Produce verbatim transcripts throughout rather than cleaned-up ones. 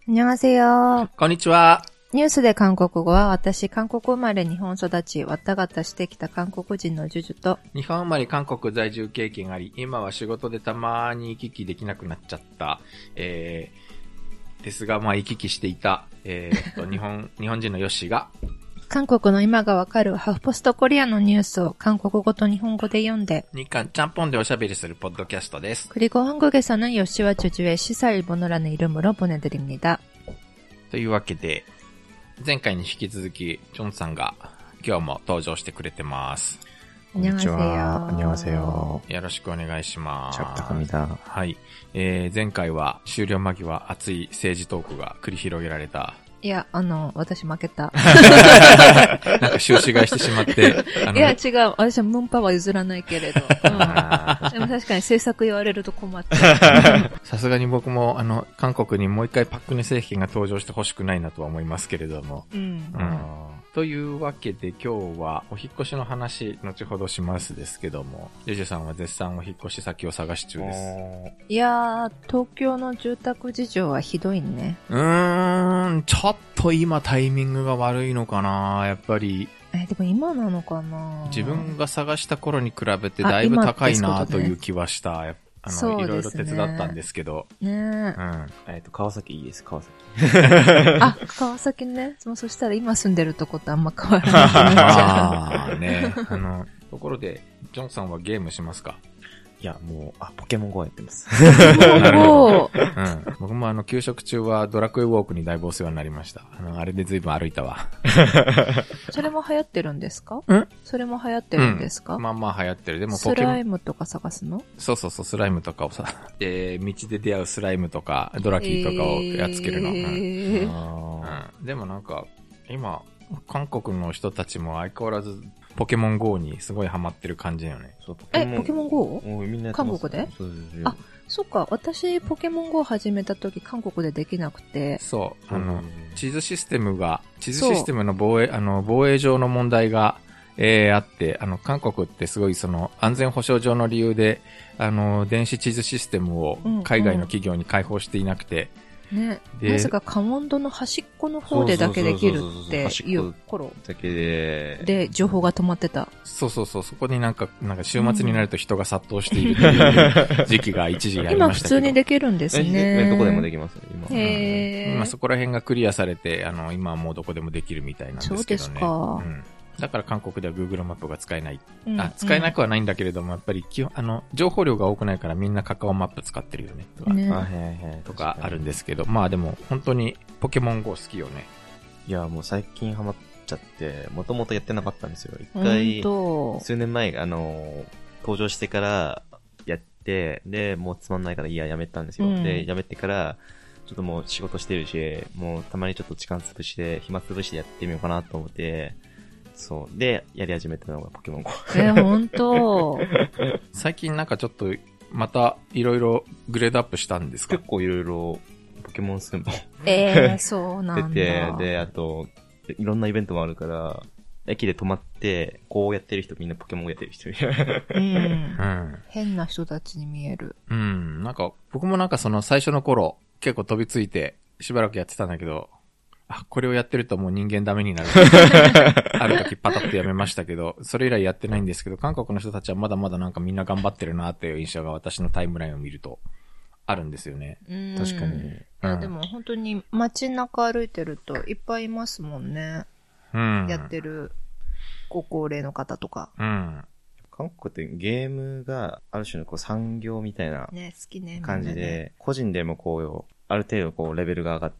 안녕하세요。 こんにちは。 ニュースで韓国語は私、韓国生まれ日本育ち、わったがたしてきた韓国人のジュジュと、 日本生まれ韓国在住経験あり、今は仕事でたまに行き来できなくなっちゃった、えー、ですが、まあ行き来していた、えー、と、日本、日本人のヨッシーが、 韓国の今がわかるハフポストコリアのニュースを韓国語と日本語で読んで、 日韓ちゃんぽんでおしゃべりするポッドキャストです。 그리고 한국에서는 요시와 주주의 시사 일본어라는 이름으로 보내드립니다. というわけで、前回に引き続き、ジョンさんが今日も登場してくれてます。 こんにちは。 안녕하세요。 よろしくお願いします。 샵부탁합니다。 はい、えー。前回は終了間際熱い政治トークが繰り広げられた。 いや、あの、私負けた。 なんか収支買いしてしまって。 いや、違う。私はムンパは譲らないけれど。うん、でも確かに政策言われると困っちゃう。 さすがに僕も、あの、韓国にもう一回パククネ政権が登場してほしくないなとは思いますけれども。 うん。 うんというわけで今日はお引っ越しの話後ほどしますですけども、ジェジュさんは絶賛お引っ越し先を探し中です。 いやー、東京の住宅事情はひどいね。 うーん、ちょっと今タイミングが悪いのかな、やっぱり。 え、でも今なのかな。 自分が探した頃に比べてだいぶ高いなという気はした。あの、ね、いろいろ手伝ったんですけど。 ねえ。うん。 えっと、川崎いいです、川崎。 あ、川崎ね。そしたら今住んでるとことあんま変わらない気になっちゃう。 ああ、ね。あの、ところで、ジョンさんはゲームしますか？ いや、もう、あ、ポケモンゴーやってます。 なるほど。うん。僕もあの、給食中はドラクエウォークにだいぶお世話になりました。あの、あれで随分歩いたわ。 それも流行ってるんですか？ んそれも流行ってるんですか？ うん、まあまあ流行ってる。でもポケモン。スライムとか探すの？ そうそうそう、スライムとかをさ、えー、道で出会うスライムとか、ドラキーとかをやっつけるの。えーうんうん、でもなんか、今、韓国の人たちも相変わらず、ポケモン ゴー にすごいハマってる感じだよね。 そう、 え、ポケモン ゴー？ みんな韓国で？ そうですよ。 あ、そっか。私、ポケモン ゴー 始めた時、韓国でできなくて。 そう。あの、地図システムが、地図システムの防衛、あの、防衛上の問題が、えー、あって、あの、韓国ってすごいその、安全保障上の理由で、あの、電子地図システムを海外の企業に開放していなくて、 うんうん、ね。なぜかカモンドの端っこの方でだけできるっていう頃だけで、 で、情報が止まってた。 そうそうそう、そこになんか、なんか週末になると人が殺到しているという時期が一時ありましたけど。 今普通にできるんですね。 どこでもできますよ、今。 へー。 今そこら辺がクリアされて、あの、今はもうどこでもできるみたいなんですけどね。 そうですか。 うんだから韓国では Google マップが使えない。うん、あ、使えなくはないんだけれども、やっぱり基本、あの、情報量が多くないからみんなカカオマップ使ってるよね。とか、 ねとかあるんですけど、まあでも本当にポケモン ゴー 好きよね。 いや、もう最近ハマっちゃって、もともとやってなかったんですよ。一回、数年前、あの、登場してからやって、で、もうつまんないからいいや、やめたんですよ。うん、で、やめてから、ちょっともう仕事してるし、もうたまにちょっと時間潰して、暇潰してやってみようかなと思って、そう。で、やり始めたのがポケモン ゴー。 えー、ほんと最近なんかちょっと、また、いろいろグレードアップしたんですか？ 結構いろいろ、ポケモンスンも。 えー、そうなんだ。 出て、で、あと、いろんなイベントもあるから、駅で止まって、こうやってる人、みんなポケモンやってる人。 うん。うん。変な人たちに見える。 うん。なんか、僕もなんかその最初の頃、結構飛びついて、しばらくやってたんだけど、あ、これをやってるともう人間ダメになる。ある時パタッとやめましたけど、それ以来やってないんですけど、韓国の人たちはまだまだなんかみんな頑張ってるなっていう印象が私のタイムラインを見るとあるんですよね。 うん確かに。 いや、うん、でも本当に街中歩いてるといっぱいいますもんね。 うん。 やってるご高齢の方とか。 うん。 韓国ってゲームがある種のこう産業みたいな感じで、ね、個人でもこう、ある程度こうレベルが上がって、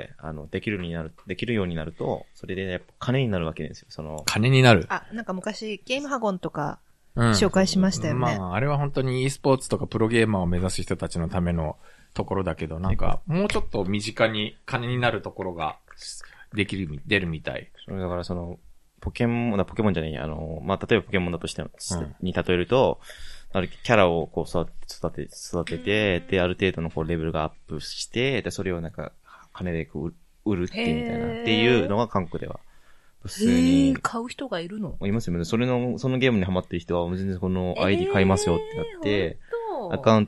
あの、できるようになる、できるようになると、それでやっぱ金になるわけですよ、その。 金になる。 あ、なんか昔ゲームハゴンとか、紹介しましたよね。 うん、まあ、あれは本当に e スポーツとかプロゲーマーを目指す人たちのためのところだけど、なんか、もうちょっと身近に金になるところが、できる、出るみたい。 それだからその、ポケモン、だポケモンじゃない、あの、まあ、例えばポケモンだとして、うん、に例えると、あるキャラをこう育て、育てて、で、ある程度のこうレベルがアップして、で、それをなんか、金でこう売るっていうみたいな、っていうのが韓国では。普通に。 買う人がいるの？ いますよね。それの、そのゲームにハマってる人は、全然この アイディー 買いますよってなって、アカウント買っ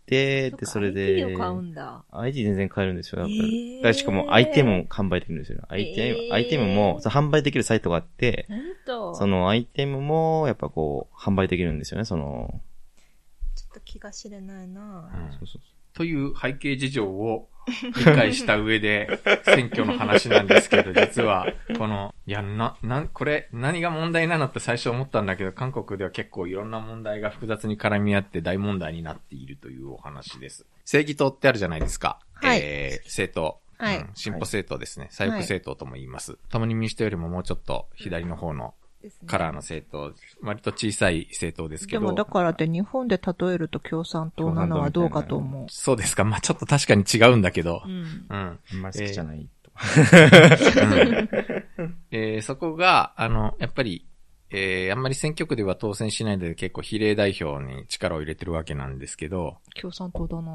て、で、それで、 アイティー を買うんだ。 アイティー 全然買えるんですよ。やっぱり。 えー、 しかも、アイテムも販売できるんですよ。アイテム、えー、アイテムも、その販売できるサイトがあって、そのアイテムも、やっぱこう、販売できるんですよね、その。 ちょっと気が知れないな、 うん、そうそうそう。という背景事情を理解した上で、選挙の話なんですけど、実は、この、いや、な、な、これ、何が問題なのって最初思ったんだけど、韓国では結構いろんな問題が複雑に絡み合って大問題になっているというお話です。正義党ってあるじゃないですか。 はい。 えー、政党。はい。うん、進歩政党ですね。左翼政党とも言います。共に民主党よりももうちょっと左の方の、カラーの政党、割と小さい政党ですけど。 でもだからって日本で例えると共産党なのはどうかと思う。 そうですか。まあちょっと確かに違うんだけど。うん。うん。 あんまり好きじゃない。 えーうんえー、そこが、あの、やっぱり、えー、あんまり選挙区では当選しないので結構比例代表に力を入れてるわけなんですけど。 共産党だな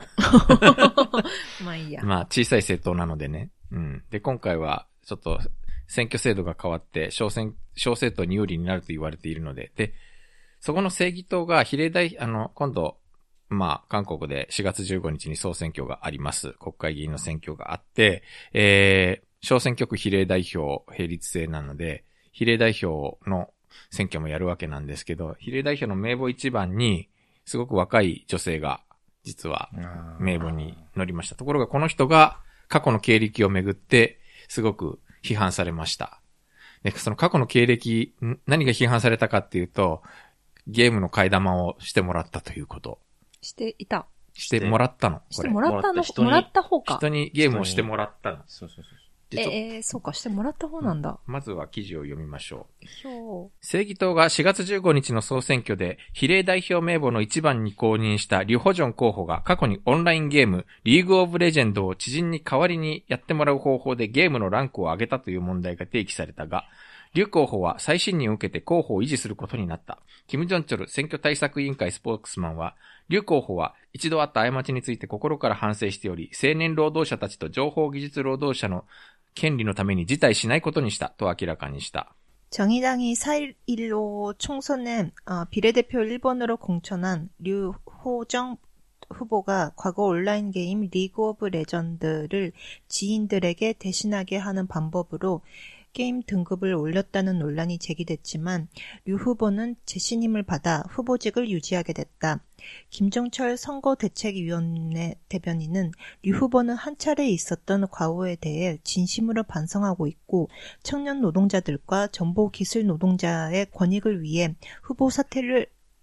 まあいいや。 まあ小さい政党なのでね。うん。で、今回はちょっと、選挙制度が変わって、小選、小政党に有利になると言われているので、で、そこの正義党が比例代、あの、今度、まあ、韓国でしがつじゅうごにちに総選挙があります。国会議員の選挙があって、えー、小選挙区比例代表並立制なので、比例代表の選挙もやるわけなんですけど、比例代表の名簿一番に、すごく若い女性が、実は、名簿に乗りました。ところがこの人が、過去の経歴をめぐって、すごく、批判されました。で、その過去の経歴、何が批判されたかっていうと、ゲームの替え玉をしてもらったということ。 していた。 してもらったの。 してもらったのもらった方か。 人にゲームをしてもらったの。 そうそうそう。 ええー、そうか、してもらった方なんだ。 まずは記事を読みましょう。 正義党がしがつじゅうごにちの総選挙で比例代表名簿の一番に公認したリュ・ホジョン候補が過去にオンラインゲームリーグオブレジェンドを知人に代わりにやってもらう方法でゲームのランクを上げたという問題が提起されたが、リュ候補は再審認を受けて候補を維持することになった。キム・ジョンチョル選挙対策委員会スポークスマンは、リュ候補は一度あった過ちについて心から反省しており、青年労働者たちと情報技術労働者の権利のために辞退しないことにしたと明らかにした。 정의당이 사 일일오 총선에 어, 비례대표 일 번으로 공천한 류호정 후보가 과거 온라인 게임 리그 오브 레전드를 지인들에게 대신하게 하는 방법으로 게임 등급을 올렸다는 논란이 제기됐지만 류 후보는 재신임을 받아 후보직을 유지하게 됐다. 김종철 선거대책위원회 대변인은 류 후보는 한 차례 있었던 과오에 대해 진심으로 반성하고 있고 청년 노동자들과 정보기술 노동자의 권익을 위해 후보 사퇴를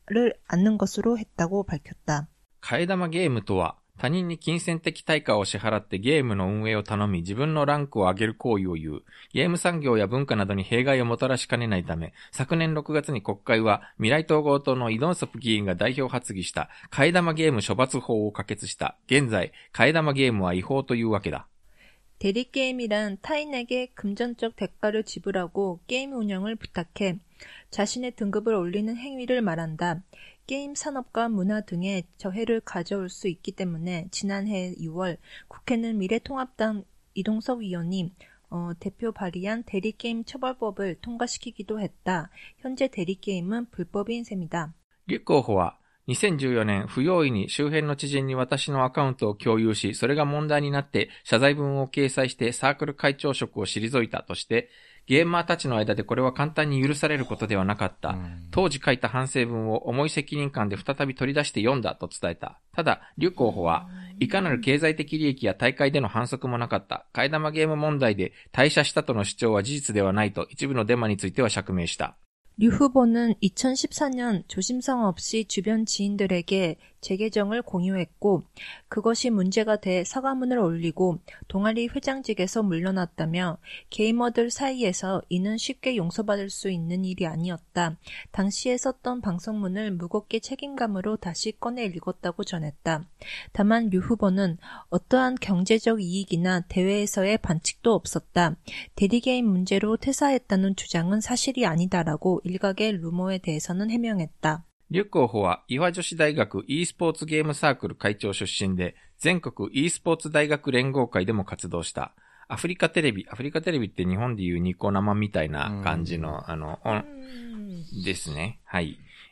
않는 것으로 했다고 밝혔다. 替え玉ゲームとは他人に金銭的対価を支払ってゲームの運営を頼み自分のランクを上げる行為を言う。ゲーム産業や文化などに弊害をもたらしかねないため、昨年ろくがつに国会は未来統合党のイ・ドンソプ議員が代表発議した替え玉ゲーム処罰法を可決した。現在、替え玉ゲームは違法というわけだ。 대리게임이란 타인에게 금전적 대가를 지불하고 게임 운영을 부탁해 자신의 등급을 올리는 행위를 말한다. 게임 산업과 문화 등에 저해를 가져올 수 있기 때문에 지난해 유월 국회는 미래통합당 이동석 의원이 어, 대표 발의한 대리게임 처벌법을 통과시키기도 했다. 현재 대리게임은 불법인 셈이다. 立候補はにせんじゅうよねん不用意に周辺の知人に私のアカウントを共有し、それが問題になって謝罪文を掲載してサークル会長職を退いたとして、ゲーマーたちの間でこれは簡単に許されることではなかった。当時書いた反省文を重い責任感で再び取り出して読んだと伝えた。ただ、リュ候補はいかなる経済的利益や大会での反則もなかった。替え玉ゲーム問題で退社したとの主張は事実ではないと一部のデマについては釈明した。 류 후보는 이천십사 년 조심성 없이 주변 지인들에게 재계정을 공유했고 그것이 문제가 돼 사과문을 올리고 동아리 회장직에서 물러났다며 게이머들 사이에서 이는 쉽게 용서받을 수 있는 일이 아니었다. 당시에 썼던 방송문을 무겁게 책임감으로 다시 꺼내 읽었다고 전했다. 다만 류 후보는 어떠한 경제적 이익이나 대회에서의 반칙도 없었다. 대리게임 문제로 퇴사했다는 주장은 사실이 아니다라고 일각의 루머에 대해서는 해명했다. リュ候補は、岩女子大学 e スポーツゲームサークル会長出身で、全国 e スポーツ大学連合会でも活動した。アフリカテレビ、アフリカテレビって日本でいうニコ生みたいな感じの、あの、ですね。はい。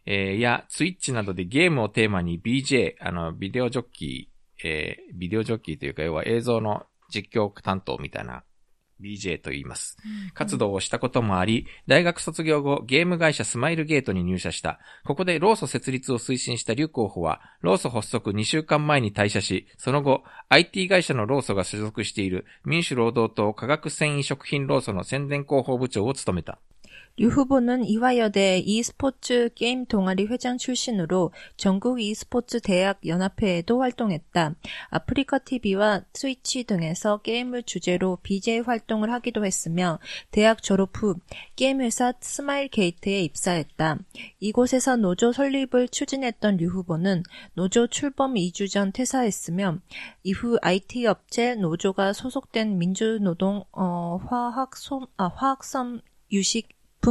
えー、や、ツイッチなどでゲームをテーマに ビージェー、あの、ビデオジョッキー、えー、ビデオジョッキーというか、要は映像の実況担当みたいな、ビージェー と言います。活動をしたこともあり、大学卒業後、ゲーム会社スマイルゲートに入社した。ここで労組設立を推進した劉候補は、労組発足にしゅうかんまえに退社し、その後、アイティー 会社の労組が所属している民主労働党化学繊維食品労組の宣伝広報部長を務めた。 류 후보는 이화여대 e스포츠 게임 동아리 회장 출신으로 전국 e스포츠 대학 연합회에도 활동했다. 아프리카 티비와 스위치 등에서 게임을 주제로 비제이 활동을 하기도 했으며 대학 졸업 후 게임 회사 스마일 게이트에 입사했다. 이곳에서 노조 설립을 추진했던 류 후보는 노조 출범 이 주 전 퇴사했으며 이후 아이티 업체 노조가 소속된 민주노동 어, 화학솜 아, 화학섬 유식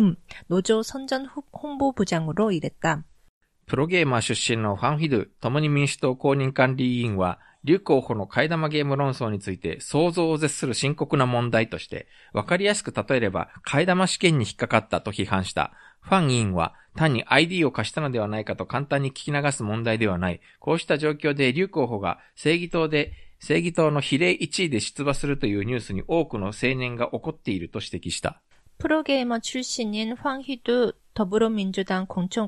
노조 선전 홍보부장으로 일했다. プロゲーマー出身のファン・ヒドゥ、共に民主党公認管理委員は、劉候補の替え玉ゲーム論争について想像を絶する深刻な問題として、わかりやすく例えれば替え玉試験に引っかかったと批判した。ファン委員は単に アイディー を貸したのではないかと簡単に聞き流す問題ではない。こうした状況で劉候補が正義党で正義党の比例いちいで出馬するというニュースに多くの青年が怒っていると指摘した。 프로게이머 출신인 황희두 더불어민주당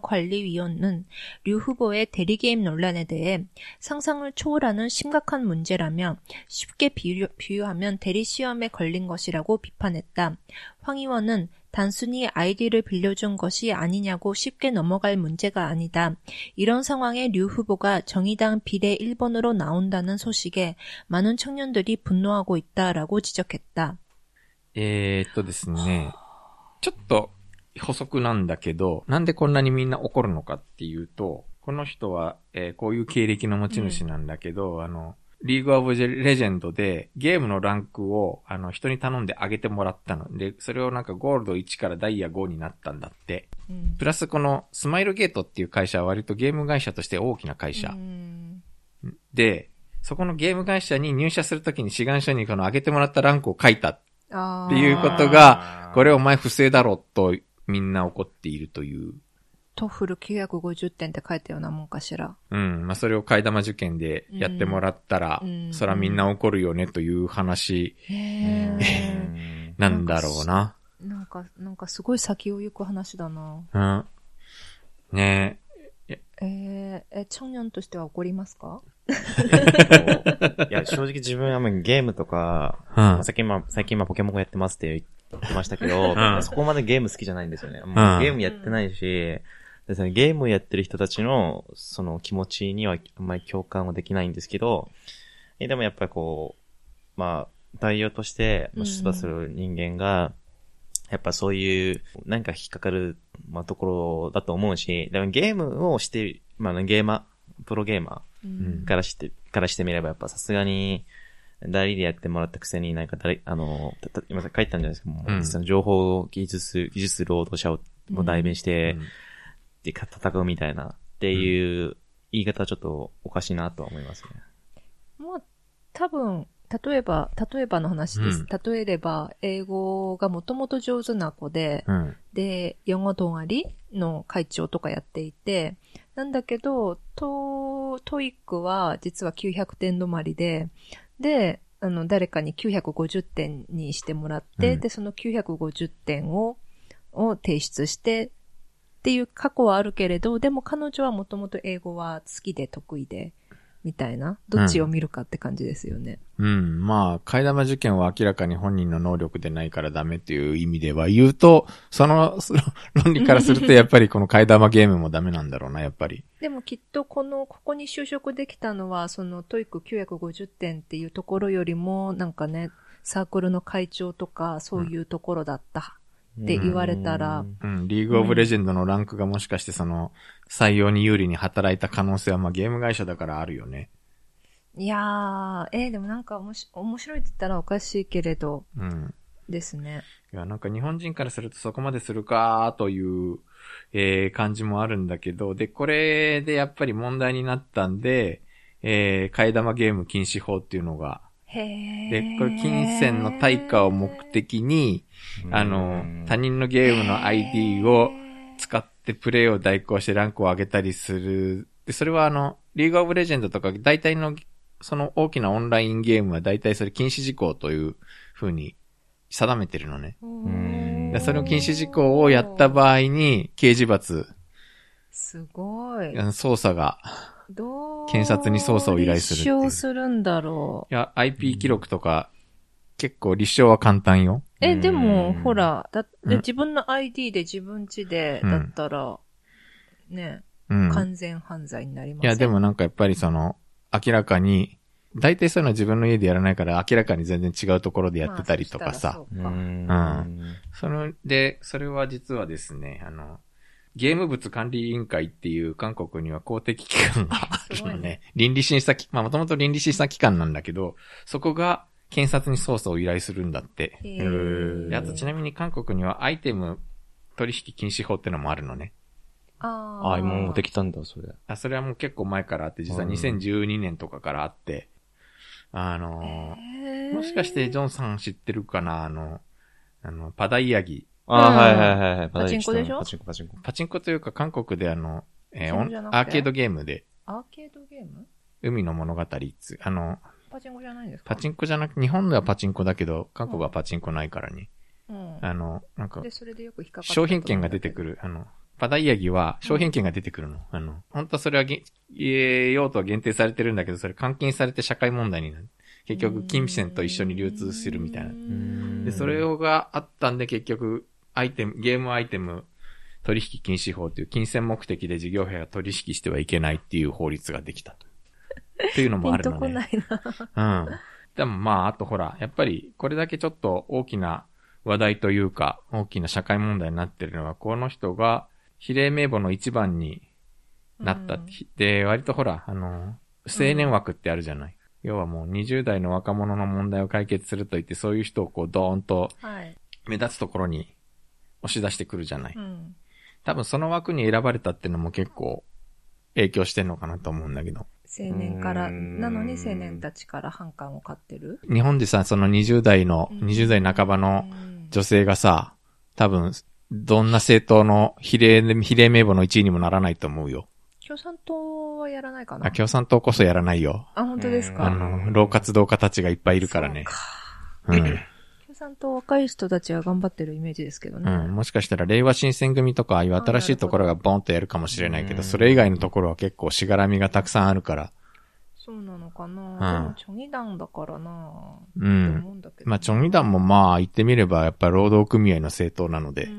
공천관리위원은 류 후보의 대리게임 논란에 대해 상상을 초월하는 심각한 문제라며 쉽게 비유, 비유하면 대리시험에 걸린 것이라고 비판했다. 황 의원은 단순히 아이디를 빌려준 것이 아니냐고 쉽게 넘어갈 문제가 아니다. 이런 상황에 류 후보가 정의당 비례 일 번으로 나온다는 소식에 많은 청년들이 분노하고 있다라고 지적했다. えーっとですね、ちょっと補足なんだけど、なんでこんなにみんな怒るのかっていうと、この人は、えー、こういう経歴の持ち主なんだけど、うん、あの、リーグオブレジェンドでゲームのランクをあの人に頼んで上げてもらったので、それをなんかゴールドいちからダイヤごになったんだって。うん、プラスこのスマイルゲートっていう会社は割とゲーム会社として大きな会社。うん、で、そこのゲーム会社に入社するときに志願書にこの上げてもらったランクを書いたっていうことが、これお前不正だろとみんな怒っているという。 トフルきゅうひゃくごじゅってんって書いたようなもんかしら。 うん。まあ、それを替え玉受験でやってもらったら、うん、そらみんな怒るよねという話、へなんだろうな。 なんか、なんかすごい先を行く話だな。 うん。ねえ。えー、え、청년としては怒りますか？ いや、正直自分はゲームとか、うん、最近今、最近今ポケモンやってますって言ってましたけど、うん、そこまでゲーム好きじゃないんですよね。もうゲームやってないし、ですね、ゲームをやってる人たちの、その気持ちにはあんまり共感はできないんですけど、えでもやっぱりこう、まあ、代表として出馬する人間が、やっぱそういう、何か引っかかる、まあ、ところだと思うし、でもゲームをして、まあ、ゲーマー、プロゲーマーからして、うん、からしてみればやっぱさすがに、代理でやってもらったくせになんか誰、あの、たた今書いたんじゃないですか、もう、うん、その情報技術、技術労働者を代弁して、うん、で、戦うみたいな、っていう言い方はちょっとおかしいなとは思いますね。 もう、多分、例えば、例えばの話です。うん、例えれば、英語がもともと上手な子で、うん、で、영어 동아리の会長とかやっていて、なんだけど、ト、トイックは実はきゅうひゃくてん止まりで、で、あの、誰かにきゅうひゃくごじゅってんにしてもらって、うん、で、そのきゅうひゃくごじゅってんを、を提出して、っていう過去はあるけれど、でも彼女はもともと英語は好きで得意で、みたいな、どっちを見るかって感じですよね。 うん。うん、まあ、替え玉受験は明らかに本人の能力でないからダメっていう意味では言うと、その、その論理からするとやっぱりこの替え玉ゲームもダメなんだろうな、やっぱり。 でもきっとこの、ここに就職できたのは、そのトイックきゅうひゃくごじゅってんっていうところよりも、なんかね、サークルの会長とか、そういうところだった。って言われたら、 うん、リーグオブレジェンドのランクがもしかしてその、採用に有利に働いた可能性はまあゲーム会社だからあるよね。 いやー、えー、でもなんかおもし面白いって言ったらおかしいけれど、うん、ですね。 いや、なんか日本人からするとそこまでするかという、えー、感じもあるんだけど、で、これでやっぱり問題になったんで、えー、替え玉ゲーム禁止法っていうのが、 へー。 で、これ金銭の対価を目的に、あの、他人のゲームの アイディー を使っで、プレイを代行してランクを上げたりする。で、それはあの、リーグオブレジェンドとか、大体の、その大きなオンラインゲームは大体それ禁止事項という風に定めてるのね。でその禁止事項をやった場合に、刑事罰。 すごい。 捜査が、 どう検察に捜査を依頼するっていう。 立証するんだろう。いや、アイピー 記録とか、結構立証は簡単よ。 え、でも、ほら、だって自分の アイディー で自分家で、だったら、うん、ね、うん、完全犯罪になります。 いや、でもなんかやっぱりその、明らかに、大体そういうのは自分の家でやらないから、明らかに全然違うところでやってたりとかさ。 まあ、うん。うん。その、で、それは実はですね、あの、ゲーム物管理委員会っていう韓国には公的機関があるのね。倫理審査機、まあもともと倫理審査機関なんだけど、そこが検察に捜査を依頼するんだって。へー。あとちなみに韓国にはアイテム取引禁止法ってのもあるのね。 ああ。ああ、もうできたんだ、それ。 あ、それはもう結構前からあって、実はにせんじゅうにねんとかからあって、あのー、もしかしてジョンさん知ってるかなあの、あの、パダイヤギ。 ああ、はいはいはい。 パチンコでしょ？ パチンコ、パチンコ。 パチンコというか韓国であの、えー、アーケードゲームで。 アーケードゲーム？ 海の物語つ、あの、 パチンコじゃないんですか？ パチンコじゃなく、日本ではパチンコだけど、韓国はパチンコないからに。 うん。 あの、なんか、 で、それでよく引っかかった。 商品券が出てくる。あの、パダイヤギは商品券が出てくるの。うん、あの、本当はそれはげ、用途は限定されてるんだけど、それ換金されて社会問題になる。結局、金銭と一緒に流通するみたいな。で、それがあったんで結局、アイテム、ゲームアイテム取引禁止法という金銭目的で事業者が取引してはいけないっていう法律ができたと。っていうのもあるのね。 ピンとこないな。 うん。でもまあ、あとほら、やっぱりこれだけちょっと大きな話題というか、大きな社会問題になってるのは、この人が比例名簿の一番になった。うん、で、割とほら、あの、青年枠ってあるじゃない。うん、要はもうにじゅう代の若者の問題を解決すると言って、そういう人をこうドーンと目立つところに押し出してくるじゃない。うん、多分その枠に選ばれたっていうのも結構影響してんのかなと思うんだけど。 青年から、なのに青年たちから反感を買ってる？ 日本でさ、そのにじゅう代の、にじゅう代半ばの女性がさ、多分、どんな政党の比例、比例名簿のいちいにもならないと思うよ。 共産党はやらないかな？ あ、共産党こそやらないよ。 あ、本当ですか？ あの、老活動家たちがいっぱいいるからね。 そうか。うん。共産党若い人たちは頑張ってるイメージですけどね。 うん。もしかしたら令和新選組とか、ああいう新しいところがボンとやるかもしれないけど、それ以外のところは結構しがらみがたくさんあるから。 そうなのかな、うん、でもチョギダンだからなうん。まあ、チョギダンもまあ言ってみればやっぱ労働組合の政党なので。うん。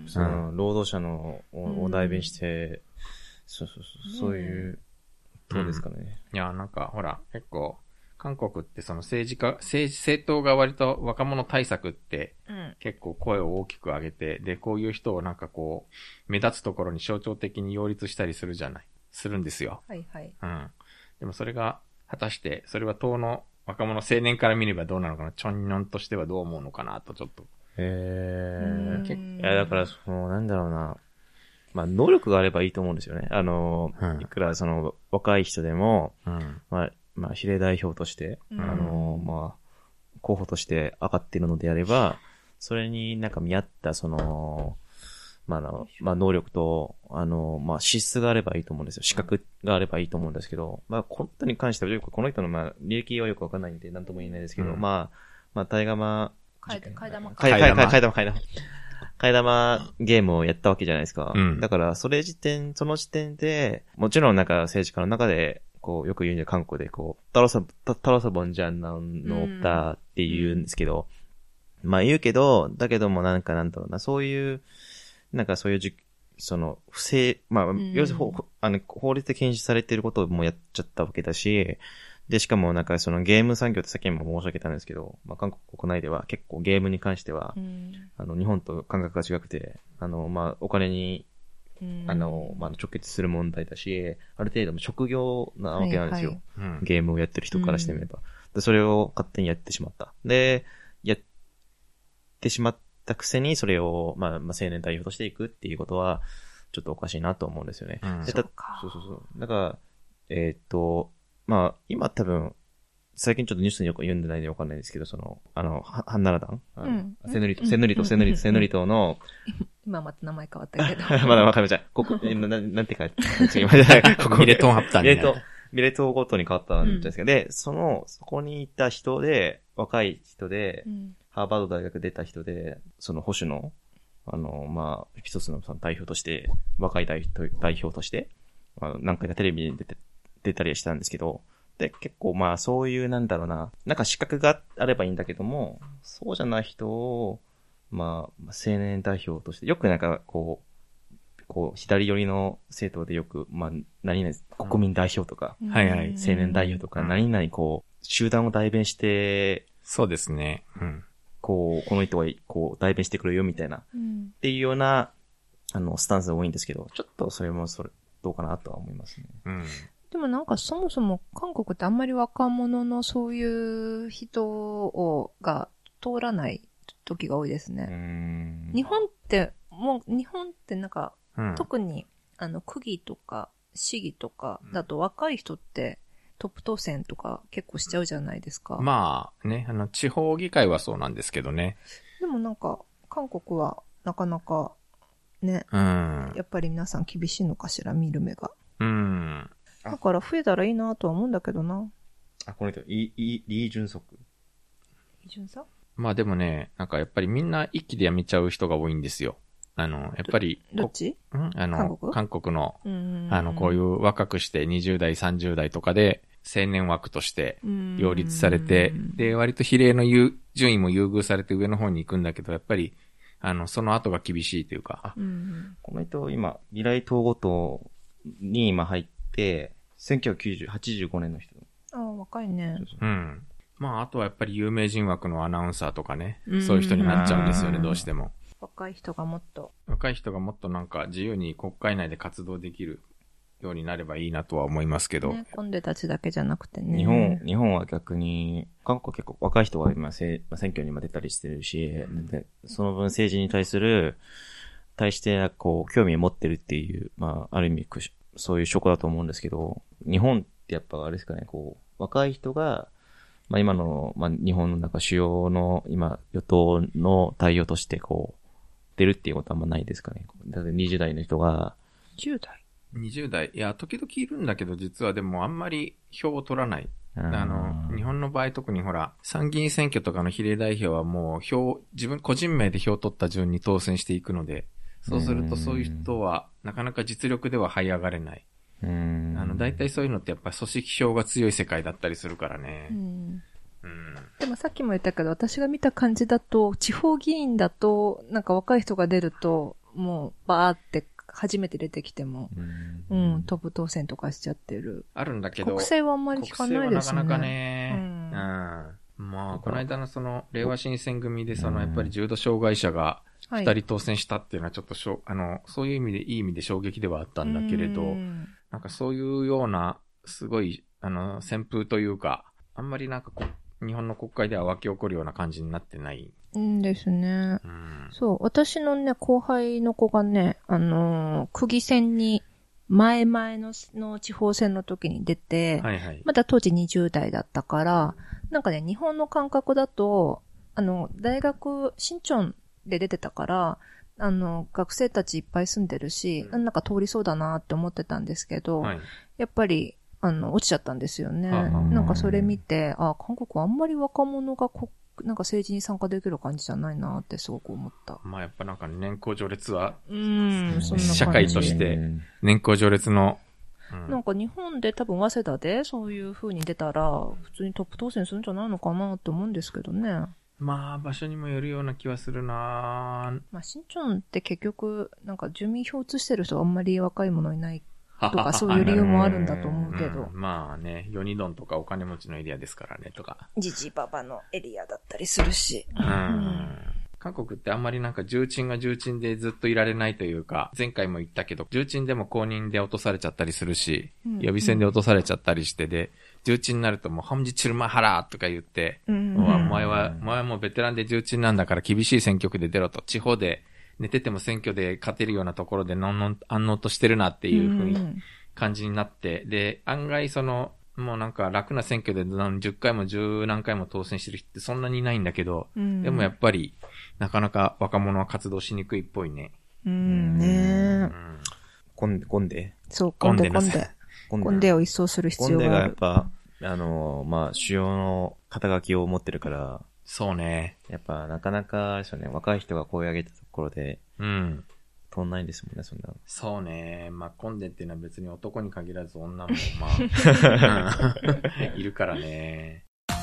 その、労働者のお代弁して、うん、そうそうそう、そういう、どうですかね、うん。いや、なんかほら、結構、韓国ってその政治家、政治、政党が割と若者対策って、結構声を大きく上げて、で、こういう人をなんかこう、目立つところに象徴的に擁立したりするじゃない。するんですよ。 はいはい。 うん。でもそれが、果たして、それは党の若者青年から見ればどうなのかな、チョンニョンとしてはどう思うのかなと、ちょっと。 へー。いや、だから、その、なんだろうな。まあ、能力があればいいと思うんですよね。あの、うん、いくらその、若い人でも、うん、まあ、まあ、比例代表として、うん、あの、まあ、候補として上がっているのであれば、それになんか見合った、その、まあ、あの、まあ、能力と、あの、まあ、資質があればいいと思うんですよ。資格があればいいと思うんですけど、まあ、この人に関してはよく、この人の、まあ、履歴はよくわかんないんで、なんとも言えないですけど、うん、まあ、まあ、タイガマ、 替え玉、替え玉、 替え玉、替え玉、替え玉、替え玉ゲームをやったわけじゃないですか。うん、だから、それ時点、その時点で、もちろんなんか政治家の中で、こう、よく言うんで、韓国で、こう、タロサ、タロサボンジャンナのだって言うんですけど、うん、まあ言うけど、だけどもなんかなんだろうな、そういう、なんかそういうじ、その、不正、まあ、うん、要するに、あの、法律で禁止されていることをもうやっちゃったわけだし、で、しかもなんかそのゲーム産業ってさっきも申し上げたんですけど、まあ韓国国内では結構ゲームに関しては、うん、あの、日本と感覚が違くて、あの、まあ、お金に、うん、あの、まあ、直結する問題だし、ある程度も職業なわけなんですよ。はいはい、ゲームをやってる人からしてみれば、うん。で、それを勝手にやってしまった。で、やってしまったくせに、それを、まあ、まあ、青年代表としていくっていうことは、ちょっとおかしいなと思うんですよね。うん、でそうかそうそうそう。だから、えー、っと、まあ、今多分、最近ちょっとニュースによく読んでないんでわかんないですけど、その、あの、ハンナラ団、うん、セヌリト、セヌリト、セヌリト、セヌリトの、 今また名前変わったけど。 まだわかりました。ここ、えな、なんて書いてあここミレトンハプターにミレトン、ミレトンごとに変わったんじゃないですか。うん、で、その、そこにいた人で、若い人で、うん、ハーバード大学出た人で、その保守の、あの、まあ、一つのその代表として、若い代表代表として、あの何回かテレビに出て、出たりしたんですけど、で、結構まあそういうなんだろうな、なんか資格があればいいんだけども、そうじゃない人を、まあ、青年代表として、よくなんかこう、こう、左寄りの政党でよく、まあ、何々、国民代表とか、 はいはい、 青年代表とか、何々こう、集団を代弁して、 そうですね。うん。 こう、この人は、こう、代弁してくれるよみたいな、うん、っていうような、あの、スタンスが多いんですけど、ちょっとそれも、それ、どうかなとは思いますね。 うん。 でもなんかそもそも韓国ってあんまり若者のそういう人を、が通らない時が多いですね。 うーん日本って、もう、日本ってなんか、 うん、 特に、あの、区議とか、市議とかだと若い人って、トップ当選とか結構しちゃうじゃないですか。 まあね、あの、地方議会はそうなんですけどね。 でもなんか、韓国はなかなか、ね、 うん、 やっぱり皆さん厳しいのかしら、見る目が。 うん。 だから増えたらいいなとは思うんだけどな。 あ、この人、イ、イ、リー・ジュンソク。 リー・ジュンソク？ まあでもね、なんかやっぱりみんな一気で辞めちゃう人が多いんですよ。あの、やっぱり。 どっち？ んあの、 韓国？ 韓国の、あの、こういう若くしてにじゅう代、さんじゅう代とかで青年枠として擁立されて、で、割と比例の優順位も優遇されて上の方に行くんだけど、やっぱり、あの、その後が厳しいというか。 この人、今、未来統合党に今入って、せんきゅうひゃくきゅうじゅう、はちじゅうごねんの人。 ああ、若いね。 うん。まあ、あとはやっぱり有名人枠のアナウンサーとかね、そういう人になっちゃうんですよね、どうしても。 若い人がもっと。 若い人がもっとなんか自由に国会内で活動できるようになればいいなとは思いますけど。 ね、コンデたちだけじゃなくてね。 日本、日本は逆に、韓国は結構若い人が今選挙にも出たりしてるし、でその分政治に対する、対してこう、興味を持ってるっていう、まあ、ある意味、そういう証拠だと思うんですけど、日本ってやっぱあれですかね、こう、若い人が、まあ今の、まあ日本の中主要の今与党の対応としてこう、出るっていうことはあんまないですかね。だってにじゅう代の人が。 じゅう代 ? にじゅう代。いや、時々いるんだけど、実はでもあんまり票を取らない。あの、日本の場合特にほら、参議院選挙とかの比例代表はもう票、自分個人名で票を取った順に当選していくので、そうするとそういう人はなかなか実力では這い上がれない。 うーんあの、大体そういうのってやっぱり組織票が強い世界だったりするからね。 うんうん、 でもさっきも言ったけど、私が見た感じだと、地方議員だと、なんか若い人が出ると、もうバーって初めて出てきても、うん、うん、トップ当選とかしちゃってる。 あるんだけど。 国政はあんまり聞かないですね。 国政はなかなかね。うん。うん、まあ、この間のその、令和新選組でその、やっぱり重度障害者が二人当選したっていうのはちょっとしょ、はい、あの、そういう意味で、いい意味で衝撃ではあったんだけれど、んなんかそういうような、すごい、あの、旋風というか、あんまりなんかこう、日本の国会では沸き起こるような感じになってない。 うんですね。 うん、 そう、私のね、後輩の子がね、あのー、区議選に、前々のの地方選の時に出て、 はいはい、 まだ当時にじゅう代だったから、なんかね、日本の感覚だと、あの、大学、新町で出てたから、あの、学生たちいっぱい住んでるし、うん、なんか通りそうだなって思ってたんですけど、はい、やっぱり、あの、落ちちゃったんですよね。なんかそれ見て、あ、韓国はあんまり若者がこ、なんか政治に参加できる感じじゃないなってすごく思った。 まあやっぱなんか年功序列は、 うん、そんな感じ。 社会として年功序列の、 うん、なんか日本で多分早稲田でそういう風に出たら、普通にトップ当選するんじゃないのかなって思うんですけどね。 まあ場所にもよるような気はするな。 まあ新町って結局、なんか住民票移してる人はあんまり若い者いないとかそういう理由もあるんだと思うけど。 うん、まあね、ヨニドンとかお金持ちのエリアですからねとか。 ジジババのエリアだったりするし。 うん。うん、韓国ってあんまりなんか重鎮が重鎮でずっといられないというか、前回も言ったけど、重鎮でも公認で落とされちゃったりするし、うん、予備選で落とされちゃったりしてで、重鎮になるともうハムジチルマハラーとか言って、うん、お前は、お前はもうベテランで重鎮なんだから厳しい選挙区で出ろと、地方で寝てても選挙で勝てるようなところでのんのん安納としてるなっていう風に、うん感じになって、で、案外その、もうなんか楽な選挙でじゅっかいもじゅう何回も当選してる人ってそんなにいないんだけど、うん、でもやっぱりなかなか若者は活動しにくいっぽいね。 うんね。 コンデ、コンデそう、コンデ、コンデ。コンデを一掃する必要がある。 コンデがやっぱ、あの、まあ、主要の肩書きを持ってるから、 そうね。 やっぱなかなかですよね、若い人が声を上げたところで、 うん。 通んないですもんね、そんな。 そうね。まあ、コンデっていうのは別に男に限らず女も、まあ、いるからね。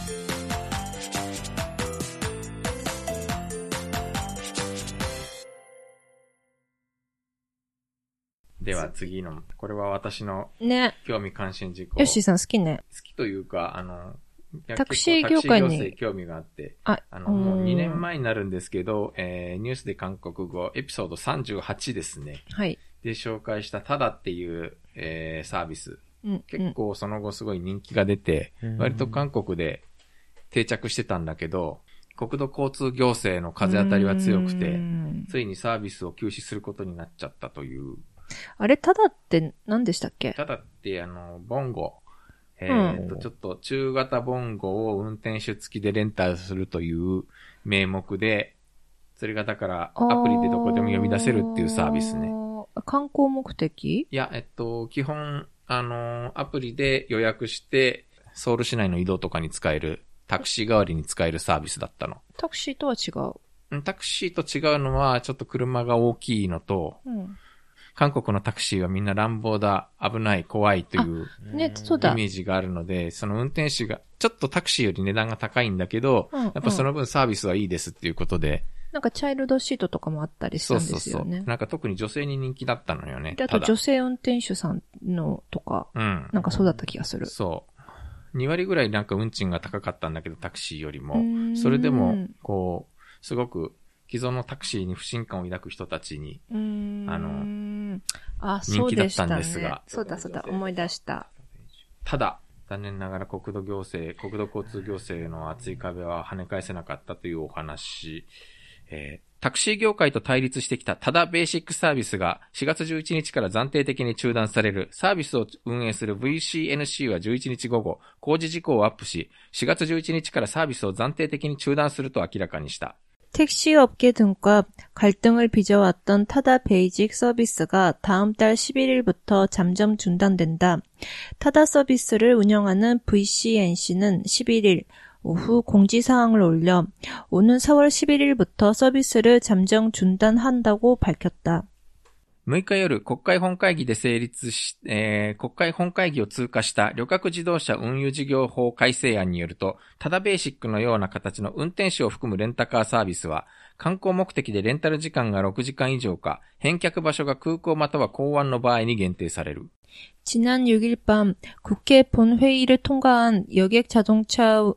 では次の、これは私の興味関心事項。 ね、ヨッシーさん好きね。 好きというか、あの、 タクシー業界に。 タクシー業界興味があって、あ、あの、もうにねんまえになるんですけど、えー、ニュースで韓国語、エピソードさんじゅうはちですね。 はい。 で紹介したタダっていう、えー、サービス。 うん、 結構その後すごい人気が出て、うん、割と韓国で定着してたんだけど、国土交通行政の風当たりは強くて、ついにサービスを休止することになっちゃったという。 あれ、タダって何でしたっけ？ タダって、あの、ボンゴ。えー、っと、うん、ちょっと中型ボンゴを運転手付きでレンタルするという名目で、それがだからアプリでどこでも呼び出せるっていうサービスね。 観光目的？ いや、えっと、基本、あの、アプリで予約して、ソウル市内の移動とかに使える、タクシー代わりに使えるサービスだったの。 タクシーとは違う？ タクシーと違うのは、ちょっと車が大きいのと、うん、韓国のタクシーはみんな乱暴だ、危ない、怖いというね、そうだ。 イメージがあるので、その運転手が、ちょっとタクシーより値段が高いんだけど、うんうん、やっぱその分サービスはいいですっていうことで。 なんかチャイルドシートとかもあったりしたんですよね。そうそうそう。 なんか特に女性に人気だったのよね。 で、あと女性運転手さんのとか、うん、なんかそうだった気がする。 そう。に割ぐらいなんか運賃が高かったんだけど、タクシーよりも。それでも、こう、すごく、既存のタクシーに不信感を抱く人たちに、あの、 あ、 人気だったんですが。 そうだそうだ、思い出した。 ただ、残念ながら国土行政、国土交通行政の厚い壁は跳ね返せなかったというお話。えー、タクシー業界と対立してきたタダベーシックサービスがしがつじゅういちにちから暫定的に中断される。サービスを運営する ブイシーエヌシー はじゅういちにち午後、工事事項をアップし、しがつじゅういちにちからサービスを暫定的に中断すると明らかにした。 택시업계 등과 갈등을 빚어왔던 타다 베이직 서비스가 다음 달 십일 일부터 잠정 중단된다. 타다 서비스를 운영하는 브이씨엔씨는 십일 일 오후 공지사항을 올려 오는 사월 십일 일부터 서비스를 잠정 중단한다고 밝혔다. むいか夜、国会本会議で成立し、えー、国会本会議を通過した旅客自動車運輸事業法改正案によると、タダベーシックのような形の運転手を含むレンタカーサービスは、観光目的でレンタル時間がろくじかん以上か、返却場所が空港または港湾の場合に限定される。 지난 육 일 밤 국회 본회의를 통과한 여객자동차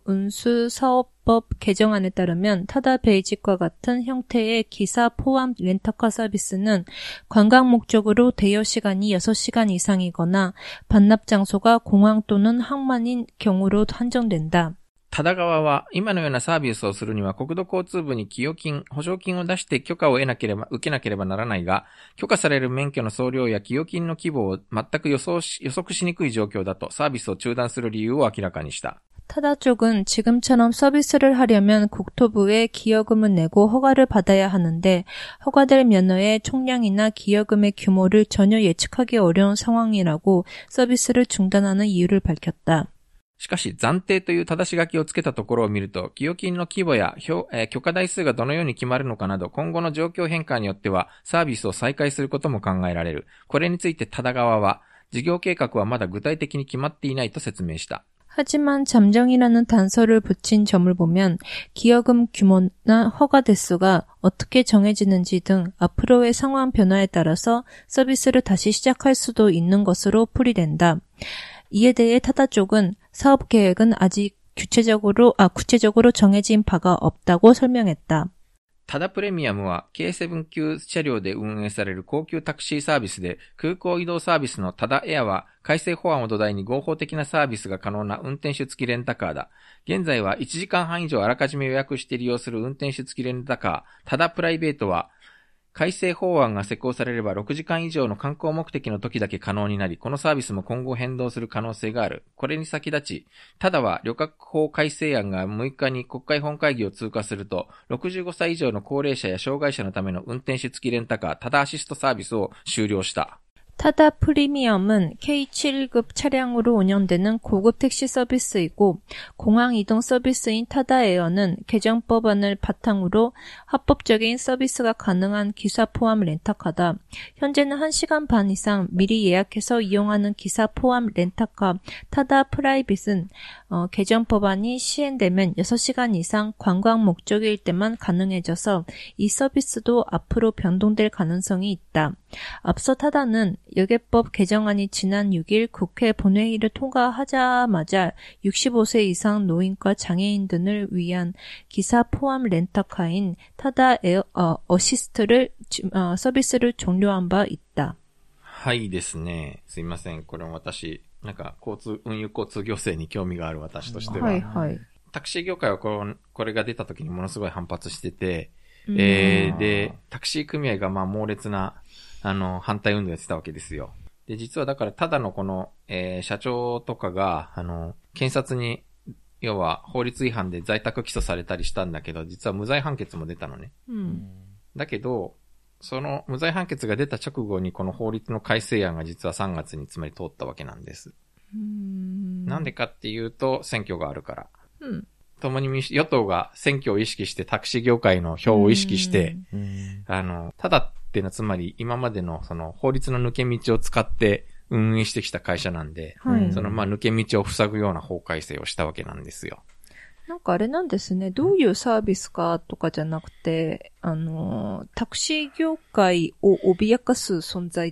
운수사업법 개정안에 따르면 타다 베이직과 같은 형태의 기사 포함 렌터카 서비스는 관광 목적으로 대여 시간이 여섯 시간 이상이거나 반납 장소가 공항 또는 항만인 경우로 한정된다. タダ側は今のようなサービスをするには国土交通部に寄与金、補償金を出して許可を得なければ、受けなければならないが、許可される免許の総量や寄与金の規模を全く予想し、予測しにくい状況だとサービスを中断する理由を明らかにした。 타다 쪽은 지금처럼 서비스를 하려면 국토부에 기여금을 내고 허가를 받아야 하는데 허가될 면허의 총량이나 기여금의 규모를 전혀 예측하기 어려운 상황이라고 서비스를 중단하는 이유를 밝혔다. しかし、暫定という正し書きをつけたところを見ると、寄与金の規模や、えー、許可台数がどのように決まるのかなど、今後の状況変化によっては、サービスを再開することも考えられる。これについてタダ側は、事業計画はまだ具体的に決まっていないと説明した。 하지만 잠정이라는 단서를 붙인 점을 보면 기여금 규모나 허가 대수가 어떻게 정해지는지 등 앞으로의 상황 변화에 따라서 서비스를 다시 시작할 수도 있는 것으로 풀이된다. 이에 대해 타다 쪽은 사업 계획은 아직 구체적으로, 아, 구체적으로 정해진 바가 없다고 설명했다. タダプレミアムは ケーセブン 級車両で運営される高級タクシーサービスで、空港移動サービスのタダエアは改正法案を土台に合法的なサービスが可能な運転手付きレンタカーだ。現在はいちじかんはん以上あらかじめ予約して利用する運転手付きレンタカー、タダプライベートは改正法案が施行されればろくじかん以上の観光目的の時だけ可能になり、このサービスも今後変動する可能性がある。これに先立ち、ただは旅客法改正案がむいかに国会本会議を通過すると、ろくじゅうごさい以上の高齢者や障害者のための運転手付きレンタカー、タダアシストサービスを終了した。 타다 프리미엄은 케이 칠 급 차량으로 운영되는 고급 택시 서비스이고 공항 이동 서비스인 타다 에어는 개정 법안을 바탕으로 합법적인 서비스가 가능한 기사 포함 렌터카다. 현재는 한 시간 반 이상 미리 예약해서 이용하는 기사 포함 렌터카 타다 프라이빗은 어, 개정 법안이 시행되면 여섯 시간 이상 관광 목적일 때만 가능해져서 이 서비스도 앞으로 변동될 가능성이 있다. 앞서 타다는 여객법 개정안이 지난 육 일 국회 본회의를 통과하자마자 육십오 세 이상 노인과 장애인 등을 위한 기사 포함 렌터카인 타다 에어 어, 어시스트를 어, 서비스를 종료한 바 있다. はいですね。すいません。これも私、なんか交通、運輸交通行政に興味がある私としては、 はいはい、 タクシー業界はこのこれが出た時にものすごい反発してて、えー、で、タクシー組合がまあ猛烈な、あの、反対運動やってたわけですよ。で、実はだからただのこの、えー、社長とかが、あの、検察に、要は法律違反で在宅起訴されたりしたんだけど、実は無罪判決も出たのね。 うん、 だけど、その無罪判決が出た直後にこの法律の改正案が実はさんがつにつまり通ったわけなんです。 うーんなんでかっていうと、選挙があるから。 うん。 共に民主、与党が選挙を意識してタクシー業界の票を意識して、あの、ただっていうのはつまり今までのその法律の抜け道を使って運営してきた会社なんで、 はい、 そのまあ抜け道を塞ぐような法改正をしたわけなんですよ。 なんかあれなんですね。どういうサービスかとかじゃなくて、あの、タクシー業界を脅かす存在って、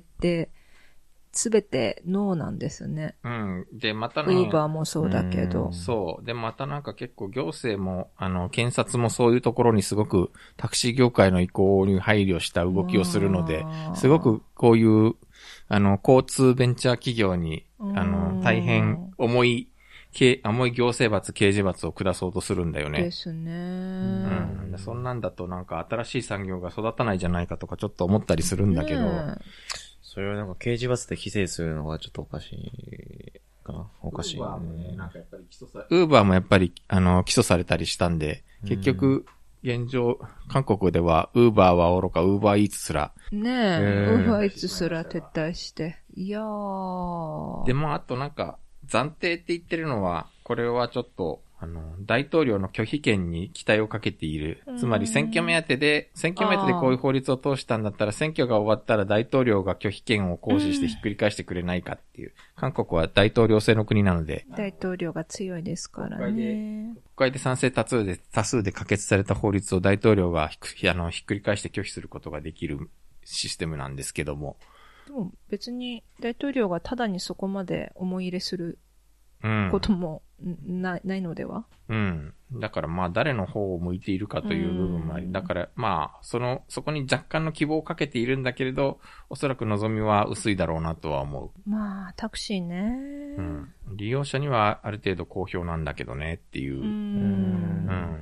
すべてノーなんですね。 うん。で、またね。 ウーバーもそうだけど。 そう。で、またなんか結構行政も、あの、検察もそういうところにすごくタクシー業界の意向に配慮した動きをするので、すごくこういう、あの、交通ベンチャー企業に、あの、大変重い、重い行政罰、刑事罰を下そうとするんだよね。 ですね。 うん。そんなんだとなんか新しい産業が育たないじゃないかとかちょっと思ったりするんだけど。ね、 それをなんか刑事罰で規制するのがちょっとおかしいかな。おかしい。ウーバーもね、なんかやっぱり起訴され、ウーバーもやっぱり、あの、起訴されたりしたんで、結局、現状、韓国では、ウーバーはおろか、ウーバーイーツすら。 ねえ、ウーバーイーツすら撤退して。いやー。 でも、あとなんか、暫定って言ってるのは、これはちょっと、あの、大統領の拒否権に期待をかけている。つまり選挙目当てで、選挙目当てでこういう法律を通したんだったら、選挙が終わったら大統領が拒否権を行使してひっくり返してくれないかっていう。韓国は大統領制の国なので。 大統領が強いですからね。 国会で賛成多数で、多数で可決された法律を大統領がひく、あの、ひっくり返して拒否することができるシステムなんですけども。 でも別に大統領がただにそこまで思い入れすることもな、ないのでは？ うん。だからまあ誰の方を向いているかという部分もあり、だからまあその、そこに若干の希望をかけているんだけれど、おそらく望みは薄いだろうなとは思う。まあタクシーね。 うん。利用者にはある程度好評なんだけどねっていう。うーん。うん。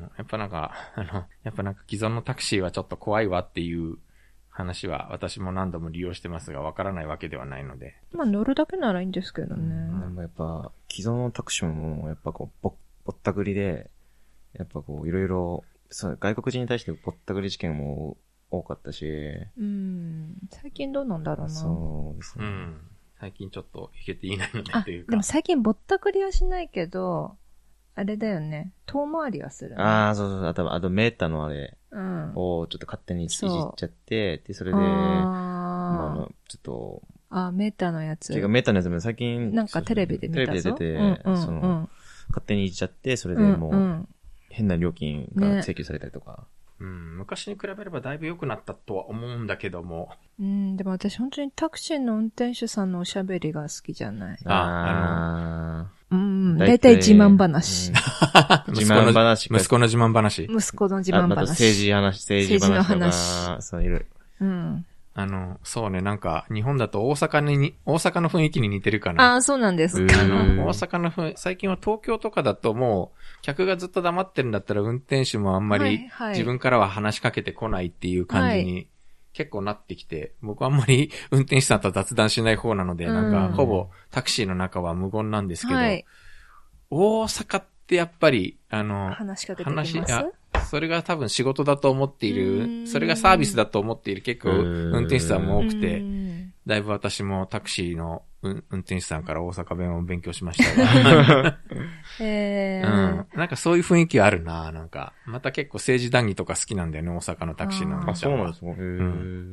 やっぱなんか、あの、やっぱなんか既存のタクシーはちょっと怖いわっていう話は私も何度も利用してますがわからないわけではないので。 まあ乗るだけならいいんですけどね。 でもやっぱ既存のタクシーもやっぱこうぼぼったくりでやっぱこういろいろそう外国人に対してぼったくり事件も多かったし。 うん。最近どうなんだろうな。 そうですね。 うん。最近ちょっといけていないのでっていうか。 でも最近ぼったくりはしないけど。あれだよね。遠回りはする、ね。 ああ、そうそう。あと、あとメーターのあれをちょっと勝手にいじっちゃって、で、それで、あまあ、あの、ちょっと。 あ、メーターのやつ。 違う、メーターのやつも最近。 なんかテレビで見たぞ。 テレビで出て、 うんうんうん、 その、勝手にいじっちゃって、それでもう、うんうん、変な料金が請求されたりとか。ね、 うん、昔に比べればだいぶ良くなったとは思うんだけども。 うん、でも私本当にタクシーの運転手さんのおしゃべりが好きじゃない。 あ、あの、 うん、だいたい自慢話。 うん、自慢話。 息子の自慢話。 息子の自慢話。あ、 あと政治話、政治話。政治の話。そういる。 うん。 あの、そうね、なんか、日本だと大阪に、大阪の雰囲気に似てるかな。 ああ、そうなんですか。 あの、大阪の雰囲気、最近は東京とかだともう、客がずっと黙ってるんだったら運転手もあんまり、自分からは話しかけてこないっていう感じに結構なってきて、僕はあんまり運転手さんと雑談しない方なので、なんか、ほぼタクシーの中は無言なんですけど、はい、大阪ってやっぱり、あの、 話しかけてきます？話、あ、 それが多分仕事だと思っている、それがサービスだと思っている結構運転手さんも多くて、だいぶ私もタクシーの運転手さんから大阪弁を勉強しましたが、 えーうん。なんかそういう雰囲気あるな、なんか。また結構政治談義とか好きなんだよね、大阪のタクシーの運転手さんは。 あ、そうなんですか。へー、うん、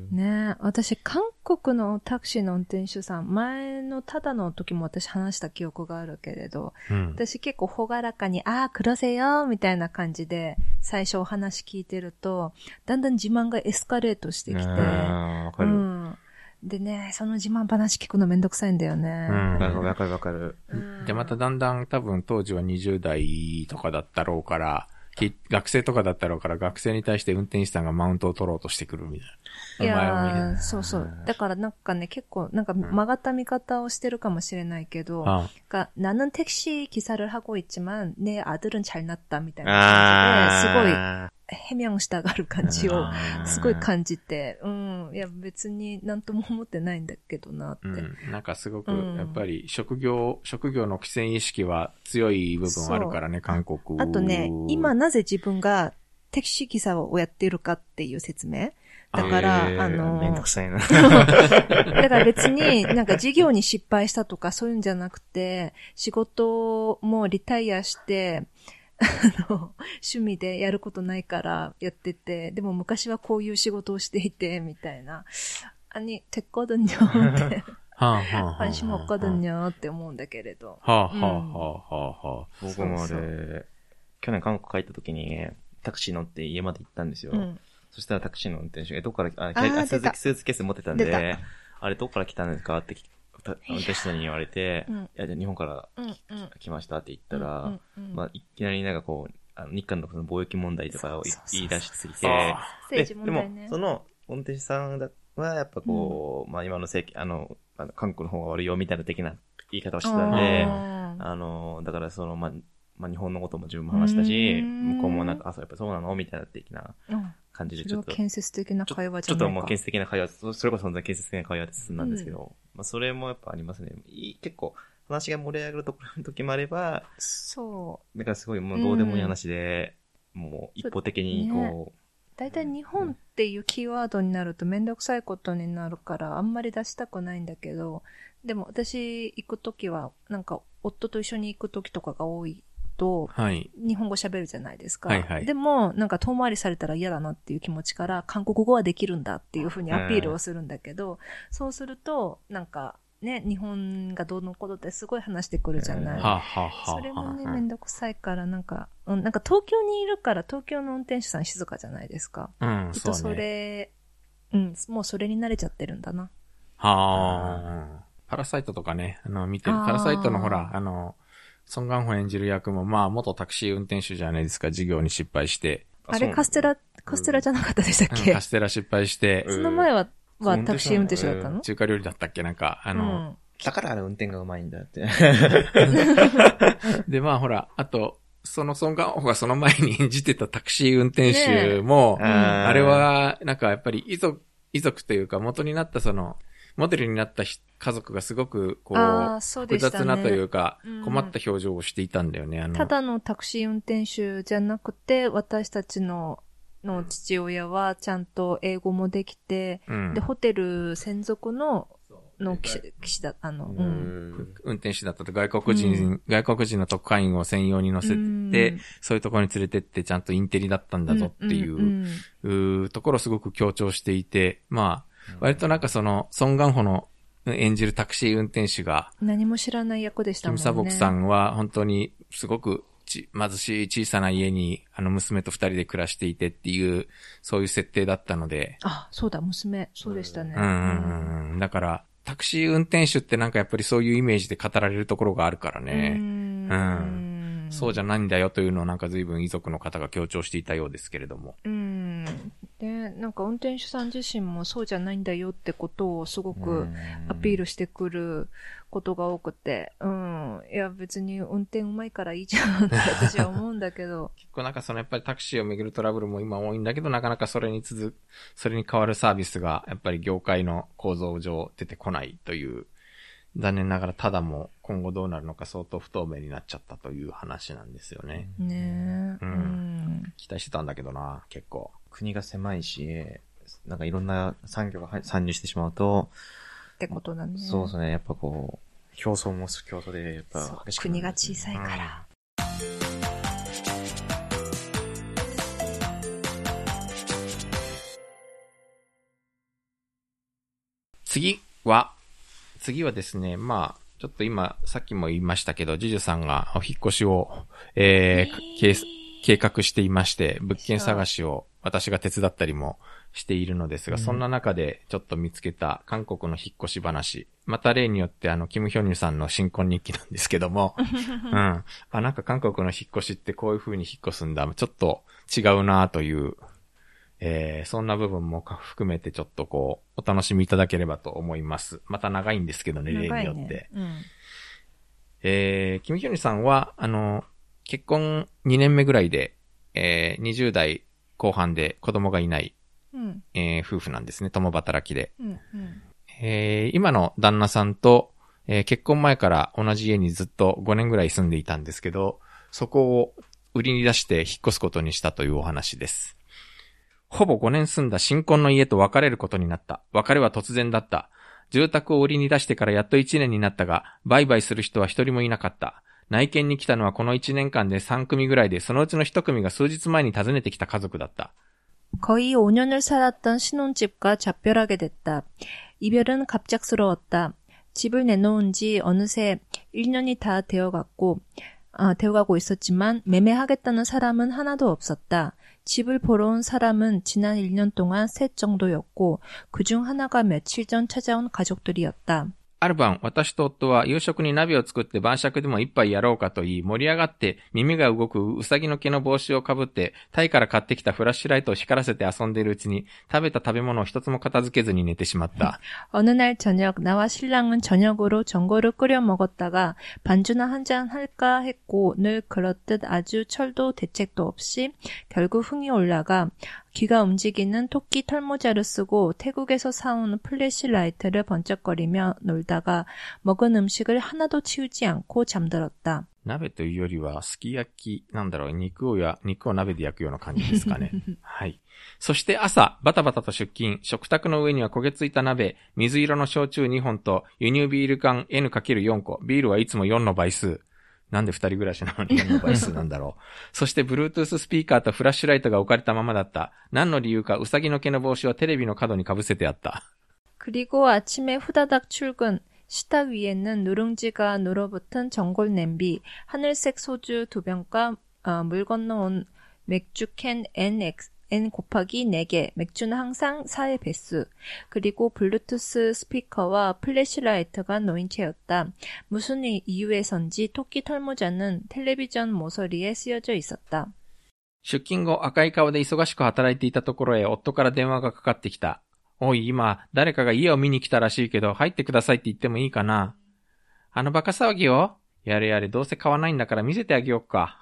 ねえ、私、韓国のタクシーの運転手さん、前のただの時も私話した記憶があるけれど、うん、私結構ほがらかに、ああ、くろせよ、みたいな感じで、最初お話聞いてると、だんだん自慢がエスカレートしてきて、 わかる。うんでね、その自慢話聞くのめんどくさいんだよね。 うん。わかるわかる。 で、まただんだん多分当時はにじゅう代とかだったろうから、学生とかだったろうから、学生に対して運転手さんがマウントを取ろうとしてくるみたいな。 いやー、そうそう。だからなんかね、結構なんか曲がった見方をしてるかもしれないけど、그러니까 나는 택시 기사를 하고 있지만 내 아들은 잘났다みたいな感じで、すごい해명したがる感じをすごい感じて、うん、いや別になんとも思ってないんだけどなって。うん、 なんかすごくやっぱり職業、職業の規制意識は強い部分あるからね、韓国。 あとね、今なぜ自分が택시 기사をやっているかっていう説明。だから、あの、 めんどくさいな。 だから別になんか事業に失敗したとかそういうんじゃなくて、仕事もリタイアして、あの、趣味でやることないからやってて、でも昔はこういう仕事をしていて、みたいな。아니、됐거든요って。관심 없거든요って思うんだけれど。 はあ、はあ、はあ、はあ。 僕もあれ、去年韓国帰った時に、タクシー乗って家まで行ったんですよ。うん、そしたらタクシーの運転手が、どこから、あ、あスーツケース持ってたんで、あれどこから来たんですかって運転手さんに言われて、いや、じゃあ日本から来ましたって言ったら、うんうん、まあ、いきなりなんかこう、あの日韓のその貿易問題とかを言い出しすぎて、 政治問題ね。 でも、その運転手さんはやっぱこう、うん、まあ今の政権、あの、あの韓国の方が悪いよみたいな的な言い方をしてたんで、あの、だからその、まあ、まあ日本のことも十分話したし、向こうもなんか、あ、そうやっぱそうなのみたいな的な感じでちょっと。それは建設的な会話じゃないか。 ちょっともう建設的な会話、それこそ本当に建設的な会話で進んだんですけど、うん、まあそれもやっぱありますね。結構話が盛り上がるところの時もあれば、 そう。 だからすごいもうどうでもいい話で、うん、もう一方的にこう。 だいたい日本っていうキーワードになるとめんどくさいことになるからあんまり出したくないんだけど、でも私行くときはなんか夫と一緒に行くときとかが多い。はい、日本語喋るじゃないですか、はいはい。でも、なんか遠回りされたら嫌だなっていう気持ちから、韓国語はできるんだっていうふうにアピールをするんだけど、そうすると、なんか、ね、日本がどうのことってすごい話してくるじゃない。それもね、めんどくさいから、なんか、うん、なんか東京にいるから、東京の運転手さん静かじゃないですか。 うん、 きっとそれ、うね、うん、もうそれに慣れちゃってるんだな。 はあ。パラサイトとかね、あの、見てる。パラサイトのほら、あの、ソン・ガンホ演じる役も、まあ、元タクシー運転手じゃないですか、事業に失敗して。 あれ、カステラ、カステラじゃなかったでしたっけ、 うん、カステラ失敗して。 その前は、はタクシー運転手だったの？ 中華料理だったっけなんか、あの、うん、 だからあれ運転がうまいんだって。 で、まあほら、あと、そのソン・ガンホがその前に演じてたタクシー運転手も、ね、あ, あれは、なんかやっぱり遺族、遺族というか元になったその、モデルになった家族がすごくこう、複雑なというか、困った表情をしていたんだよね。 うん、あのただのタクシー運転手じゃなくて、私たちのの父親はちゃんと英語もできて、うん、で、ホテル専属のの騎士だ、あの、うん、 運転手だったと外国人、うん、外国人の特派員を専用に乗せて、うん、そういうところに連れてってちゃんとインテリだったんだぞっていう、うんうん、ところをすごく強調していて、まあ、割となんかその、ソン・ガンホの演じるタクシー運転手が、 何も知らない役でしたもんね。 キム・サボクさんは本当にすごくち貧しい小さな家にあの娘と二人で暮らしていてっていう、そういう設定だったので。 あ、そうだ、娘。そうでしたね。 うんうんうん。だから、タクシー運転手ってなんかやっぱりそういうイメージで語られるところがあるからね。うん。うん。そうじゃないんだよというのをなんか随分遺族の方が強調していたようですけれども。 うん。 ん。で、なんか運転手さん自身もそうじゃないんだよってことをすごくアピールしてくることが多くて、うん。いや別に運転うまいからいいじゃんって私は思うんだけど。 結構なんかそのやっぱりタクシーをめぐるトラブルも今多いんだけど、なかなかそれに続く、それに代わるサービスがやっぱり業界の構造上出てこないという、残念ながらただも今後どうなるのか相当不透明になっちゃったという話なんですよね。 ねえ。うん。うん、 期待してたんだけどな、結構。 国が狭いし、なんかいろんな産業が参入してしまうと、 ってことだね。 そうですね。やっぱこう、競争も競争で、やっぱ激しくなる、国が小さいから。うん、 次は、次はですね、まあ、ちょっと今、さっきも言いましたけど、ジュジュさんがお引っ越しを、えー、計、計画していまして、物件探しを私が手伝ったりもしているのですが、うん、そんな中でちょっと見つけた韓国の引っ越し話。また例によってあの、キム・ヒョンニュさんの新婚日記なんですけども、うん。あ、なんか韓国の引っ越しってこういう風に引っ越すんだ。ちょっと違うなという、えー、そんな部分も含めてちょっとこう、お楽しみいただければと思います。また長いんですけどね、例によって。うん、えー、キム・ヒョンニさんは、あの、結婚にねんめぐらいで、えー、にじゅう代後半で子供がいない、うんえー、夫婦なんですね、共働きで。うんうんえー、今の旦那さんと、えー、結婚前から同じ家にずっとごねんぐらい住んでいたんですけど、そこを売りに出して引っ越すことにしたというお話です。ほぼごねん住んだ新婚の家と別れることになった。別れは突然だった。住宅を売りに出してからやっといちねんになったが、売買する人は一人もいなかった。内見に来たのはこのいちねんかんでさん組ぐらいで、そのうちのひと組が数日前に訪ねてきた家族だった。 거의 오 년을 살았던 신혼집과 작별하게 됐다. 이별은 갑작스러웠다. 집을 내놓은 지 어느새 일 년이 다 되어갔고, 아, 되어가고 있었지만 매매하겠다는 사람은 하나도 없었다. 집을 보러 온 사람은 지난 일 년 동안 셋 정도였고 그중 하나가 며칠 전 찾아온 가족들이었다. ある晩、私と夫は夕食に鍋を作って晩酌でも一杯やろうかと言い、盛り上がって耳が動くうさぎの毛の帽子をかぶって、タイから買ってきたフラッシュライトを光らせて遊んでいるうちに、食べた食べ物を一つも片付けずに寝てしまった。 어느 날 저녁, 나와 신랑은 저녁으로 전골을 끓여 먹었다가 반주나 한잔 할까 했고 늘 그렇듯 아주 철도 대책도 없이 결국 흥이 올라가 귀가 움직이는 토끼 털모자를 쓰고 태국에서 사온 플래시라이트를 번쩍거리며 놀다가 먹은 음식을 하나도 치우지 않고 잠들었다. 鍋というよりはすき焼きなんだろう、肉をや肉を鍋で焼くような感じですかね。はい。そして朝バタバタと出勤、食卓の上には焦げついた鍋、水色の焼酎にほんと輸入ビール缶 エヌかけるよん 個、ビールはいつもよんの倍数。なんで二人暮らしなのによんの倍数なんだろう。そして Bluetooth スピーカーとフラッシュライトが置かれたままだった。何の理由かウサギの毛の帽子はテレビの角にかぶせてあった。 그리고 아침에 후다닥 출근. 식탁 위에는 누룽지가 눌어붙은 전골 냄비, 하늘색 소주 두 병과 어, 물 건너온 맥주캔 NX, N 곱하기 네 개, 맥주는 항상 사의 배수, 그리고 블루투스 스피커와 플래시라이트가 놓인 채였다. 무슨 이유에선지 토끼 털모자는 텔레비전 모서리에 쓰여져 있었다. 出勤後赤い顔で忙しく働いていたところへ夫から電話がかかってきた。おい、今、誰かが家を見に来たらしいけど、入ってくださいって言ってもいいかな。あのバカ騒ぎを？やれやれ、どうせ買わないんだから見せてあげようか。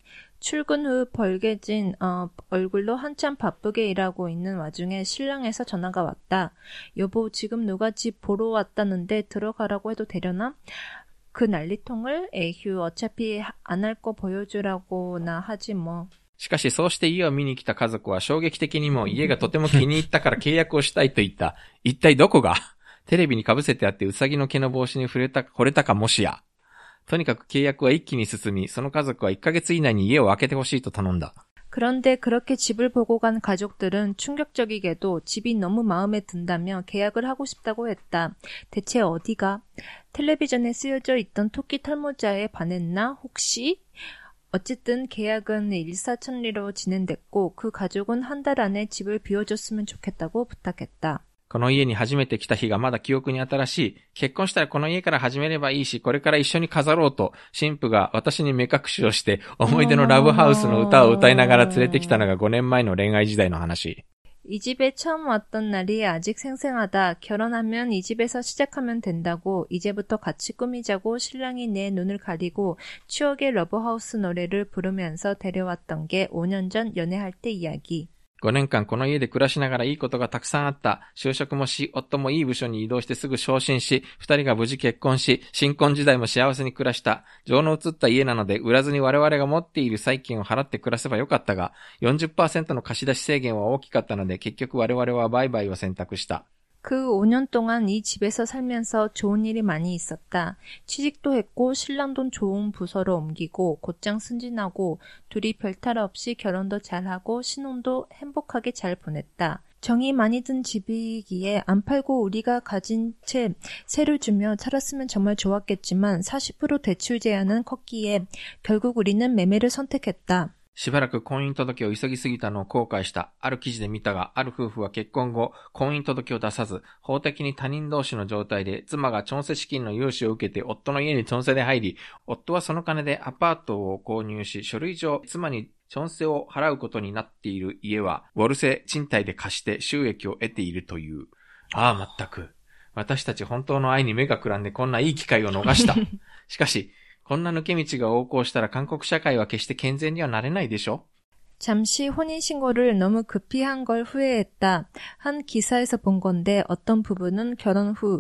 출근 후 벌개진 어, 얼굴로 한참 바쁘게 일하고 있는 와중에 신랑에서 전화가 왔다. 여보, 지금 누가 집 보러 왔다는데 들어가라고 해도 되려나? 그 난리통을 에휴, 어차피 안 할 거 보여주라고나 하지 뭐. しかしそうして家を見に来た家族は衝撃的にも家がとても気に入ったから契約をしたいと言った。一体どこが？テレビに被せてあってウサギの毛の帽子に触れた、惚れたかもしや。とにかく契約は一気に進み、その家族はいっかげつ以内に家を空けてほしいと頼んだ。 그런데 그렇게 집을 보고 간 가족들은 충격적이게도 집이 너무 마음에 든다며 계약을 하고 싶다고 했다. 대체 어디가? 텔레비전에 쓰여져 있던 토끼 털모자에 반했나? 혹시? 어쨌든 계약은 일사천리로 진행됐고 그 가족은 한 달 안에 집을 비워줬으면 좋겠다고 부탁했다. この家に初めて来た日がまだ記憶に新しい。結婚したらこの家から始めればいいし、これから一緒に飾ろうと、新婦が私に目隠しをして、思い出のラブハウスの歌を歌いながら連れてきたのがごねんまえの恋愛時代の話。 이 집에 처음 왔던 날이 아직 생생하다. 결혼하면 이 집에서 시작하면 된다고. 이제부터 같이 꾸미자고 신랑이 내 눈을 가리고 추억의 러브하우스 노래를 부르면서 데려왔던 게 오 년 전 연애할 때 이야기. ごねんかんこの家で暮らしながらいいことがたくさんあった。就職もし、夫もいい部署に移動してすぐ昇進し、二人が無事結婚し、新婚時代も幸せに暮らした。情の移った家なので、売らずに我々が持っている債金を払って暮らせばよかったが、よんじゅっパーセント の貸し出し制限は大きかったので、結局我々は売買を選択した。 그 오 년 동안 이 집에서 살면서 좋은 일이 많이 있었다. 취직도 했고 신랑도 좋은 부서로 옮기고 곧장 승진하고 둘이 별탈 없이 결혼도 잘하고 신혼도 행복하게 잘 보냈다. 정이 많이 든 집이기에 안 팔고 우리가 가진 채 세를 주며 살았으면 정말 좋았겠지만 사십 퍼센트 대출 제한은 컸기에 결국 우리는 매매를 선택했다. しばらく婚姻届を急ぎすぎたのを後悔した。ある記事で見たが、ある夫婦は結婚後、婚姻届を出さず、法的に他人同士の状態で、妻がチョンセ資金の融資を受けて、夫の家にチョンセで入り、夫はその金でアパートを購入し、書類上、妻にチョンセを払うことになっている家は、ウォルセ賃貸で貸して収益を得ているという。ああ、まったく。私たち本当の愛に目がくらんでこんないい機会を逃した。しかし、こんな抜け道が横行したら韓国社会は決して健全にはなれないでしょ? 잠시 혼인신고를 너무 급히 한 걸 후회했다. 한 기사에서 본 건데 어떤 부부는 결혼 후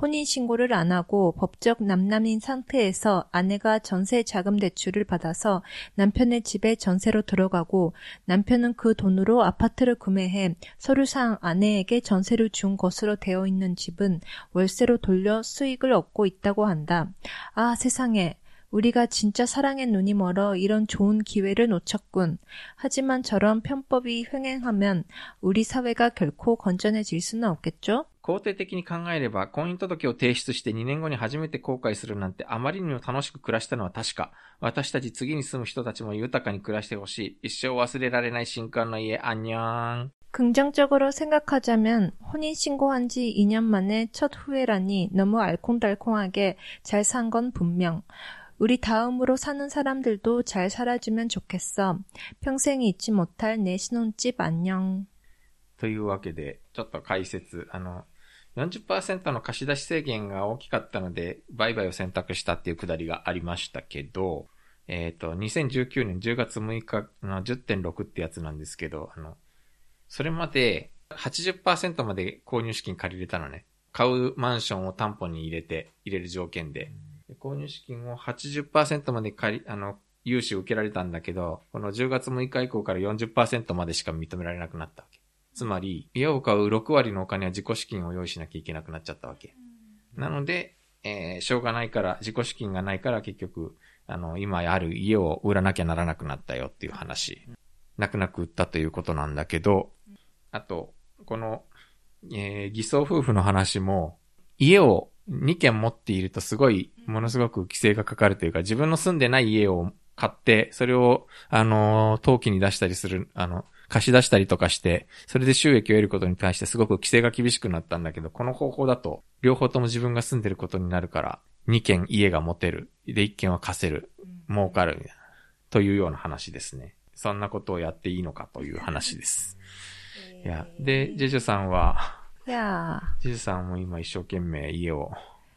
혼인신고를 안 하고 법적 남남인 상태에서 아내가 전세 자금 대출을 받아서 남편의 집에 전세로 들어가고 남편은 그 돈으로 아파트를 구매해 서류상 아내에게 전세를 준 것으로 되어 있는 집은 월세로 돌려 수익을 얻고 있다고 한다. 아, 세상에. 우리가 진짜 사랑에 눈이 멀어 이런 좋은 기회를 놓쳤군. 하지만 저런 편법이 횡행하면 우리 사회가 결코 건전해질 수는 없겠죠? 肯定的に考えれば、婚姻届を提出してにねんごに初めて後悔するなんてあまりにも楽しく暮らしたのは確か。私たち次に住む人たちも豊かに暮らしてほしい。一生忘れられない新婚の家、안녕。 긍정적으로 생각하자면 혼인신고한 지 이 년 만에 첫 후회라니 너무 알콩달콩하게 잘 산 건 분명. 우리 다음으로 사는 사람들도 잘 살아주면 좋겠어. 평생 잊지 못할 내 신혼집 안녕. というわけで、ちょっと解説。あの、よんじゅっパーセント の貸し出し制限が大きかったので、売買を選択したっていうくだりがありましたけど、えっと、にせんじゅうきゅうねんじゅうがつむいかの じゅってんろく ってやつなんですけど、あの、それまで はちじゅっパーセント まで購入資金借りれたのね。買うマンションを担保に入れて、入れる条件で。購入資金を はちじゅっパーセント まで借り、あの、融資を受けられたんだけど、このじゅうがつむいか以降から よんじゅっパーセント までしか認められなくなったわけ。つまり、家を買うろくわりのお金は自己資金を用意しなきゃいけなくなっちゃったわけ。なので、えー、しょうがないから、自己資金がないから結局、あの、今ある家を売らなきゃならなくなったよっていう話。泣く泣く売ったということなんだけど、あと、この、えー、偽装夫婦の話も、家をにけん持っているとすごい、ものすごく規制がかかるというか、自分の住んでない家を買って、それを、あの、登記に出したりする、あの、貸し出したりとかして、それで収益を得ることに対してすごく規制が厳しくなったんだけど、この方法だと、両方とも自分が住んでることになるから、にけん家が持てる。で、いっけんは貸せる。儲かる。みたいな。というような話ですね。そんなことをやっていいのかという話です。いや、で、ジェジュさんは、 いやジェジュさんも今一生懸命家を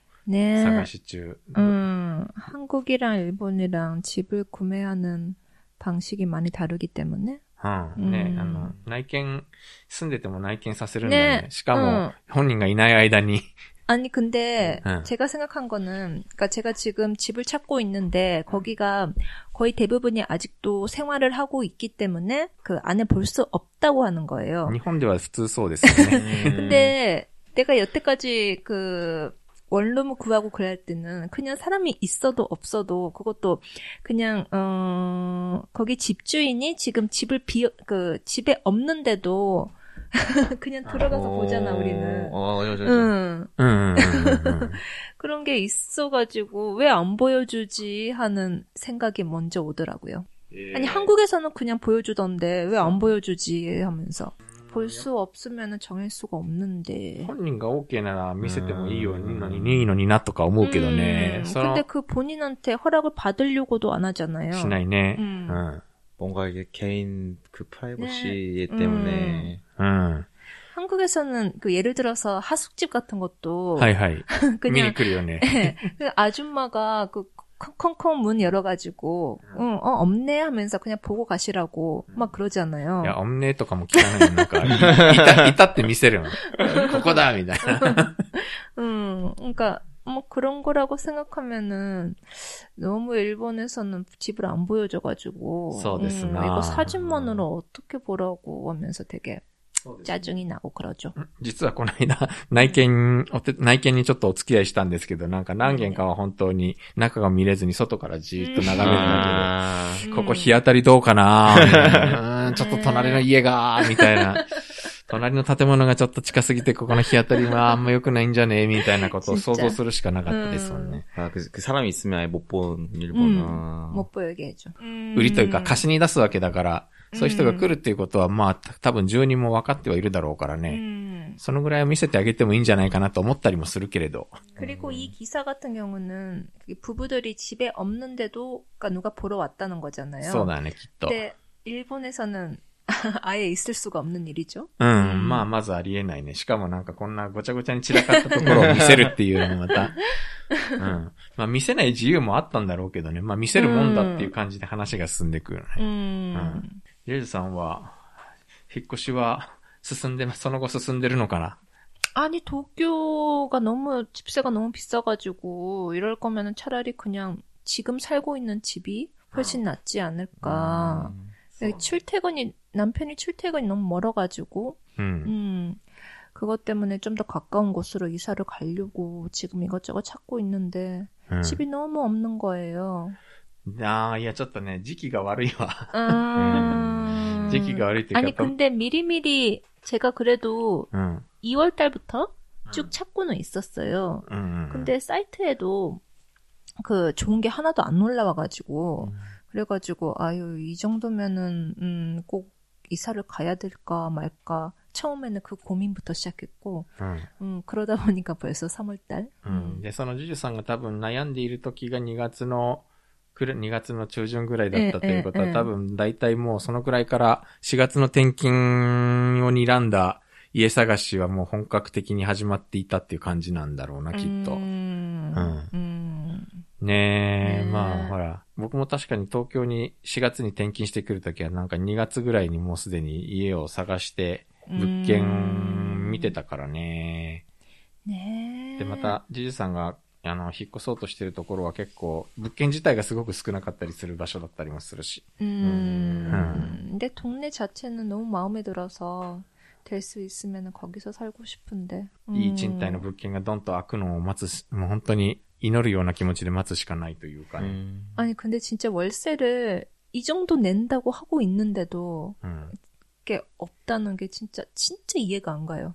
네. 사가시 중. 음, 한국이랑 일본이랑 집을 구매하는 방식이 많이 다르기 때문에. 아, 네. 음. あの、内見住んでても内見させるんだね。しかも本人がいない間に 아니 근데 응. 제가 생각한 거는 그러니까 제가 지금 집을 찾고 있는데 거기가 거의 대부분이 아직도 생활을 하고 있기 때문에 그 안에 볼 수 없다고 하는 거예요. 일본에는普通そうですよね. 근데 내가 여태까지 그 원룸을 구하고 그럴 때는 그냥 사람이 있어도 없어도 그것도 그냥 어 거기 집주인이 지금 집을 비 그 집에 없는데도 그냥 들어가서 오, 보잖아 우리는. 어, 맞아, 맞아. 응. 응, 응, 응, 응. 그런 게 있어가지고 왜 안 보여주지 하는 생각이 먼저 오더라고요. 예. 아니 한국에서는 그냥 보여주던데 왜 안 보여주지 하면서. 볼 수 없으면 정할 수가 없는데. 本人が OK なら見せてもいいようにのにいいのになとか思うけどね。 음, 근데 그 본인한테 허락을 받으려고도 안 하잖아요. しないね。 음. 응. 뭔가 이게 개인 그 프라이버시 네. 때문에. 음. 응. 한국에서는 그 예를 들어서 하숙집 같은 것도. 하이하이. 그냥. 미니클이요네. 그 아줌마가 그 콩콩콩 문 열어가지고, 응, 어, 없네 하면서 그냥 보고 가시라고 막 그러잖아요. 야, 없네 とかも聞かないのか。いた、いたって見せるの。ここだみたいな。 음, 그러니까 뭐 그런 거라고 생각하면은 너무 일본에서는 집을 안 보여줘가지고, 음, 이거 사진만으로 어떻게 보라고 하면서 되게 짜증이 나고 그러죠. 実はこの間、内見、お手、内見にちょっとお付き合いしたんですけど、なんか何軒かは本当に中が見れずに外からじーっと眺めるだけで、ここ日当たりどうかなみたいな、うーん、ちょっと隣の家が、みたいな。隣の建物がちょっと近すぎて、ここの日当たりはあんま良くないんじゃねえみたいなことを想像するしかなかったですもんね。 아, 그, 그 사람이 있으면 아예 못 본 일본어. 음, 못 보이게 해줘. 売りというか貸しに出すわけだから、そういう人が来るっていうことは、まあ、多分住人も分かってはいるだろうからね。 음. そのぐらいを見せてあげてもいいんじゃないかなと思ったりもするけれど。 그리고 이 기사 같은 경우는 부부들이 집에 없는데도 누가 보러 왔다는 거잖아요. そうだね、きっと。 근데 일본에서는 아예 있을 수가 없는 일이죠. うん、うん、まあ、まずありえないね。しかもなんかこんなごちゃごちゃに散らかったところを見せるっていうのもまた。うん。まあ、見せない自由もあったんだろうけどね。まあ、見せるもんだっていう感じで話が進んでくるね。うん。うん。ジェイズさんは、引っ越しは進んで、その後進んでるのかな? 아니, 도쿄가 너무, 집세가 너무 비싸가지고, 이럴 거면은 차라리 그냥 지금 살고 있는 집이 훨씬 낫지 않을까. 음. 출퇴근이, 남편이 출퇴근이 너무 멀어가지고, 음. 음, 그것 때문에 좀 더 가까운 곳으로 이사를 가려고 지금 이것저것 찾고 있는데, 음. 집이 너무 없는 거예요. 아, 야, ちょっとね、時期が悪いわ. 음. 時期が悪いっていうか. 아니, 근데 미리미리 제가 그래도 음. 이월 달부터 쭉 찾고는 있었어요. 음. 근데 사이트에도 그 좋은 게 하나도 안 올라와가지고, 음. 그래가지고, 아유, 이 정도면은, 음, 꼭 이사를 가야 될까 말까. 처음에는 그 고민부터 시작했고, 음, 음 그러다 보니까 벌써 삼월 달. 음. で、そのジュジュさんが多分悩んでいる時がにがつの、にがつの中旬ぐらいだったということは、ええええ、多分大体もうそのくらいからしがつの転勤を睨んだ家探しはもう本格的に始まっていたっていう感じなんだろうな、きっと。うん。うん、ねえ、ねえ、まあほら、僕も確かに東京にしがつに転勤してくるときはなんかにがつぐらいにもうすでに家を探して物件見てたからね。ねえ。で、また、ジュジュさんがあの、引っ越そうとしてるところは結構、物件自体がすごく少なかったりする場所だったりもするし。うん。うん。 근데 동네 자체는 너무 마음에 들어서 될 수 있으면 거기서 살고 싶은데. いい賃貸の物件がドンと開くのを待つ、もう本当に祈るような気持ちで待つしかないというかね。 아니, 근데 진짜 월세를 이 정도 낸다고 하고 있는데도, 음. 게 없다는 게 진짜, 진짜 이해가 안 가요.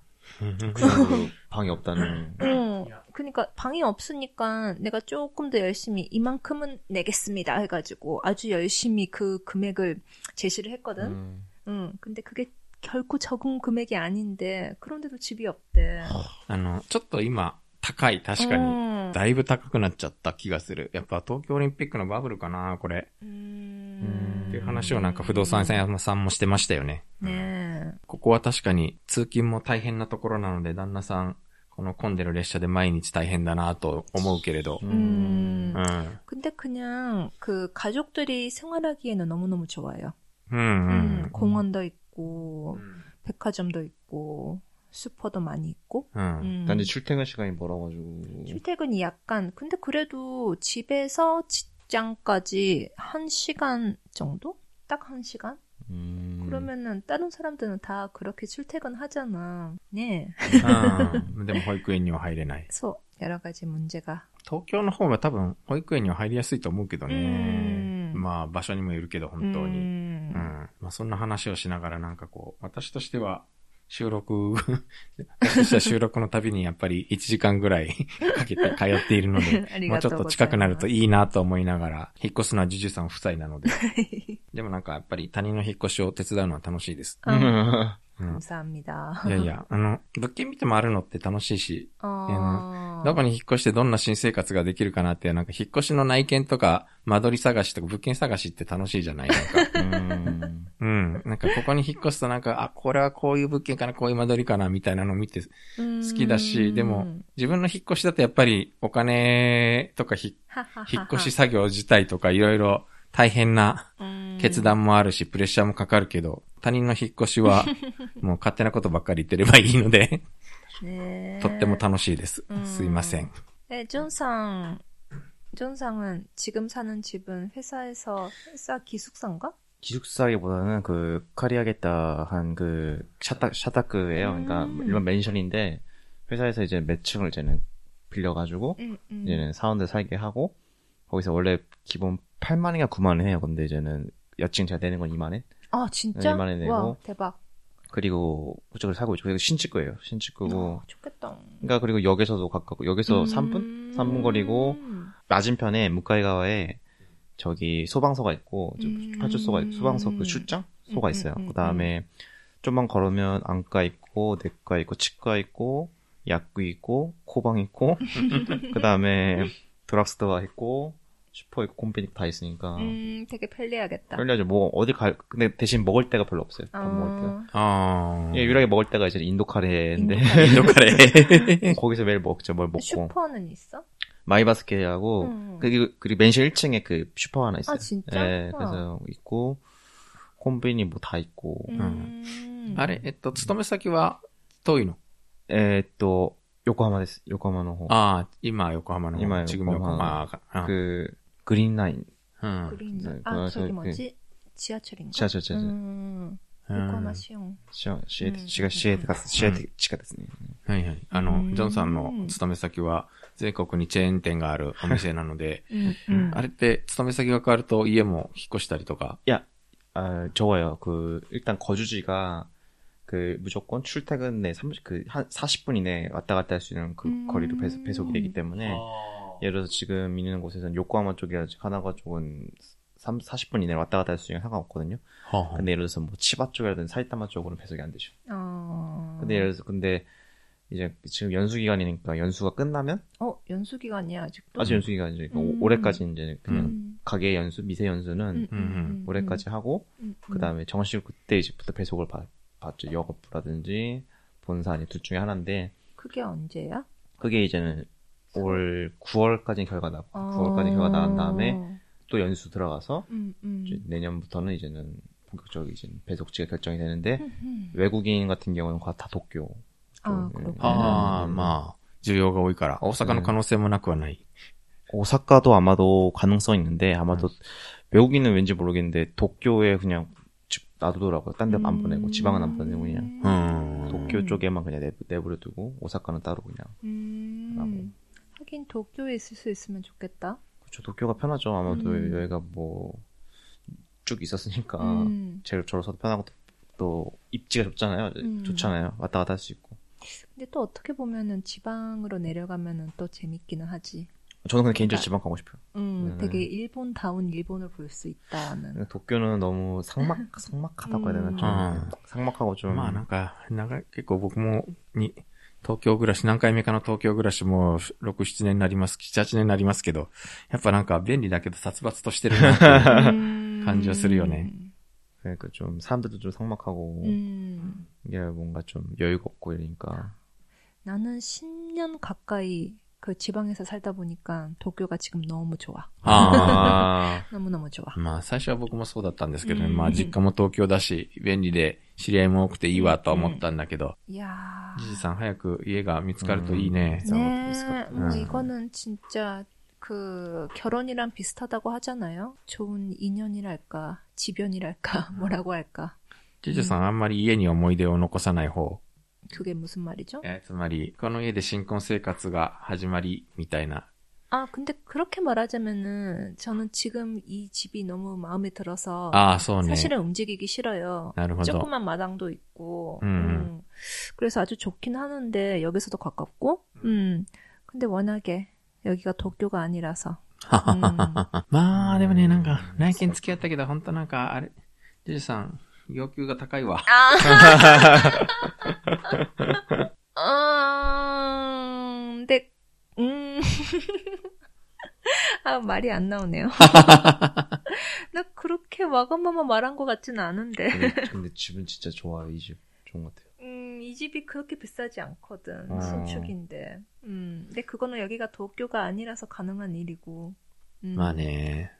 방이 없다는. 응. 그러니까 방이 없으니까 내가 조금 더 열심히 이만큼은 내겠습니다 해가지고 아주 열심히 그 금액을 제시를 했거든. 음. 응. 근데 그게 결코 적은 금액이 아닌데 그런데도 집이 없대. あの、ちょっと今高い、確かにだいぶ高くなっちゃった気がする。やっぱ東京オリンピックのバブルかな、これ。うーん。っていう話をなんか不動産屋さんもしてましたよね。ねえ。ここは確かに通勤も大変なところなので、旦那さん、この混んでる列車で毎日大変だなと思うけれど。 음. 음. 근데 그냥 그 가족들이 생활하기에는 너무너무 좋아요. 음, 음. 음, 공원도 있고, 음. 백화점도 있고, 슈퍼도 많이 있고. 음. 음. 난 이제 출퇴근 시간이 멀어가지고. 출퇴근이 약간, 근데 그래도 집에서 직장까지 한 시간 정도? 딱 한 시간? 음. 그러면은 다른 사람들은 다 그렇게 출퇴근하잖아. 네. 아, 근데 뭐保育園には入れない。 そう、여러 가지 문제가. 東京の方が多分保育園には入りやすいと思うけどね。まあ場所にもよるけど本当に。うん。まあそんな話をしながらなんかこう私としては収録、私した収録のたびにやっぱりいちじかんぐらいかけて通っているので、もうちょっと近くなるといいなと思いながら、引っ越すのはジュジュさん夫妻なので。でもなんかやっぱり他人の引っ越しを手伝うのは楽しいです。 うん。감사합니다。 いやいや、あの、物件見て回るのって楽しいし、あどこに引っ越してどんな新生活ができるかなって、なんか引っ越しの内見とか、間取り探しとか物件探しって楽しいじゃないなんか。うんうん。なんかここに引っ越すとなんか、あ、これはこういう物件かな、こういう間取りかな、みたいなのを見て好きだし、でも自分の引っ越しだとやっぱりお金とかひ引っ越し作業自体とかいろいろ大変な決断もあるし、プレッシャーもかかるけど、他人の引っ越しはもう勝手なことばっかり言ってればいいので、とっても楽しいです。すいません。 え、ジョンさん、ジョンさんは지금 사는 집은 회사에서 회사 기숙사인가? 기숙사기보다는 그 카리하겠다 한 그 샤타 샤타크예요. 음. 그러니까 일반 맨션인데 회사에서 이제 몇 층을 이제는 빌려가지고 음, 음. 이제는 사원들 살게 하고 거기서 원래 기본 팔만인가 구만 원 해요. 근데 이제는 여층 제가 내는 건 이만 원. 아 진짜? 이만 원 내고. 와 대박. 그리고 그쪽을 살고 있죠. 그리고 신축구예요. 신축구고. 아, 좋겠다. 그러니까 그리고 역에서도 가깝고 여기서 음. 삼 분? 삼 분 거리고 맞은편에 무카이가와에 저기 소방서가 있고 음. 파출소가 있고 소방서 그 출장소가 있어요. 음, 음, 음, 그다음에 좀만 걸으면 안과 있고 내과 있고 치과 있고 약국 있고 코방 있고 그다음에 드락스토어 있고 슈퍼 있고 콤비니 다 있으니까 음, 되게 편리하겠다. 편리하죠. 뭐 어디 갈 근데 대신 먹을 데가 별로 없어요. 밥 어... 먹을 데가. 아. 예, 유일하게 먹을 데가 이제 인도 카레인데 인도 카레. 거기서 매일 먹죠. 뭘 먹고. 슈퍼는 있어? 마이바스케하고 음. 그리고 그리고 맨션 일 층에 그 슈퍼 하나 있어요. 아 진짜? 예, 그래서 있고 콤비니 뭐 다 있고. 음. あれ、えっと、勤め先は遠いの？ えっと、横浜です。横浜の方。 ああ、今横浜の方。 今横浜。그 그린 라인. 음. 그린 라인. 아, 저기 뭐지? 지하철인가? 지하철, 지하철. 음. 横浜市音。 市音、市営、市が市営が、市営地下ですね。 はいはい。あの、ジョンさんの勤め先は全国にチェーン店があるお店なので、あれって勤め先が変わると家も引っ越したりとか? 야, 아, 적어요. 그, 일단 거주지가 그 무조건 출퇴근 내 삼십, 그, 한 사십 분 이내 왔다 갔다 할 수 있는 그 음. 거리로 배속, 배속이 되기 때문에, 아. 예를 들어서 지금 있는 곳에서는 요코하마 쪽이라든지 가나가 쪽은 사십 분 이내에 왔다 갔다 할 수 있는 상관없거든요. 어허. 근데 예를 들어서 뭐 치바 쪽이라든지 사이타마 쪽으로는 배속이 안 되죠. 어... 근데 예를 들어서 근데 이제 지금 연수 기간이니까 연수가 끝나면 어 연수 기간이야 아직도? 아직 연수 기간이죠. 음... 올해까지 이제 그냥 음... 가계 연수 미세 연수는 음, 음, 음, 올해까지 음, 하고 음, 음. 그 다음에 정식 그때 이제부터 배속을 받, 받죠. 영업부라든지 본사 아니 둘 중에 하나인데. 그게 언제야? 그게 이제는 올 구월까지 결과 나 어... 구월까지 결과 나간 다음에. 또 연수 들어가서 음, 음. 이제 내년부터는 이제는 본격적으로 이제 배속지가 결정이 되는데 음흠. 외국인 같은 경우는 다 도쿄. 아, 그렇구나. 아, 마, 需要が多いから 오사카의 가능성은 なくはない. 오사카도 아마도 가능성 있는데 아마도 음. 외국인은 왠지 모르겠는데 도쿄에 그냥 놔두더라고요. 딴 데 안 음. 보내고 지방은 안 보내고 그냥 음. 도쿄 쪽에만 그냥 내부, 내버려두고 오사카는 따로 그냥. 음. 하긴 도쿄에 있을 수 있으면 좋겠다. 그렇죠. 도쿄가 편하죠. 아마도 음. 여기가 뭐 쭉 있었으니까 음. 제일 저로서도 편하고 또 입지가 좁잖아요. 음. 좋잖아요. 왔다 갔다 할 수 있고. 근데 또 어떻게 보면은 지방으로 내려가면은 또 재밌기는 하지. 저는 그냥 개인적으로 지방 가고 싶어요. 음, 네. 되게 일본다운 일본을 볼 수 있다는. 도쿄는 너무 삭막 삭막하다고 해야 되나 좀 음. 삭막하고 좀. まあなんかなんか結構僕もに東京暮らし、何回目かの東京暮らしもろく、ななねんになります、なな、はちねんになりますけど、やっぱなんか便利だけど殺伐としてるなっていう感じはするよね。 그러니까 좀 사람들도 좀 삭막하고 음. 이게 뭔가 좀 여유가 없고 이러니까. 나는 십 년 가까이 그 지방에서 살다 보니까 도쿄가 지금 너무 좋아. 아. 너무너무 좋아. まあ最初は僕もそうだったんですけどね。まあ実家も東京だし、便利で知り合いも多くていいわと思ったんだけど。 いやー。 ジジさん早く家が見つかるといいね。 ねえ。もう이거는 진짜 그 결혼이랑 비슷하다고 하잖아요. 좋은 인연이랄까, 지변이랄까, 뭐라고 할까. ジジさんあんまり家に思い出を残さない方。 그게 무슨 말이죠? 예, つまりこの家で新婚生活が始まりみたいな 아, 근데 그렇게 말하자면은 저는 지금 이 집이 너무 마음에 들어서 아,そうね. 사실은 움직이기 싫어요. なるほど. 조그만 마당도 있고, 음. 음. 그래서 아주 좋긴 하는데 여기서도 가깝고, 음. 근데 워낙에 여기가 도쿄가 아니라서. 음. まあでもね、なんか内見付き合ったけど、本当なんかあれ、ジュジさん要求が高いわ。 아, 근데 음. 아, 말이 안 나오네요. 나 그렇게 와가마마 말한 것 같지는 않은데. 근데, 근데 집은 진짜 좋아요, 이 집. 좋은 것 같아요. 음, 이 집이 그렇게 비싸지 않거든. 어. 신축인데. 음, 근데 그거는 여기가 도쿄가 아니라서 가능한 일이고. 음. まあね。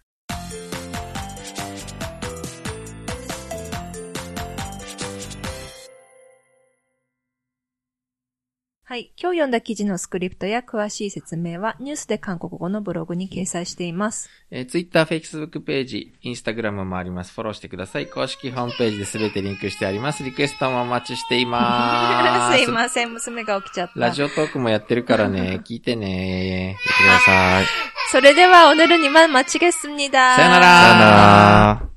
はい。今日読んだ記事のスクリプトや詳しい説明はニュースで韓国語のブログに掲載しています。 えー、Twitter、Facebook ページ、Instagram もあります。フォローしてください。公式ホームページで全てリンクしてあります。リクエストもお待ちしています。 すいません。娘が起きちゃった。 ラジオトークもやってるからね。聞いてね。聞いてください。 それでは오늘은이만마치겠습니다。 さよなら。 さよなら。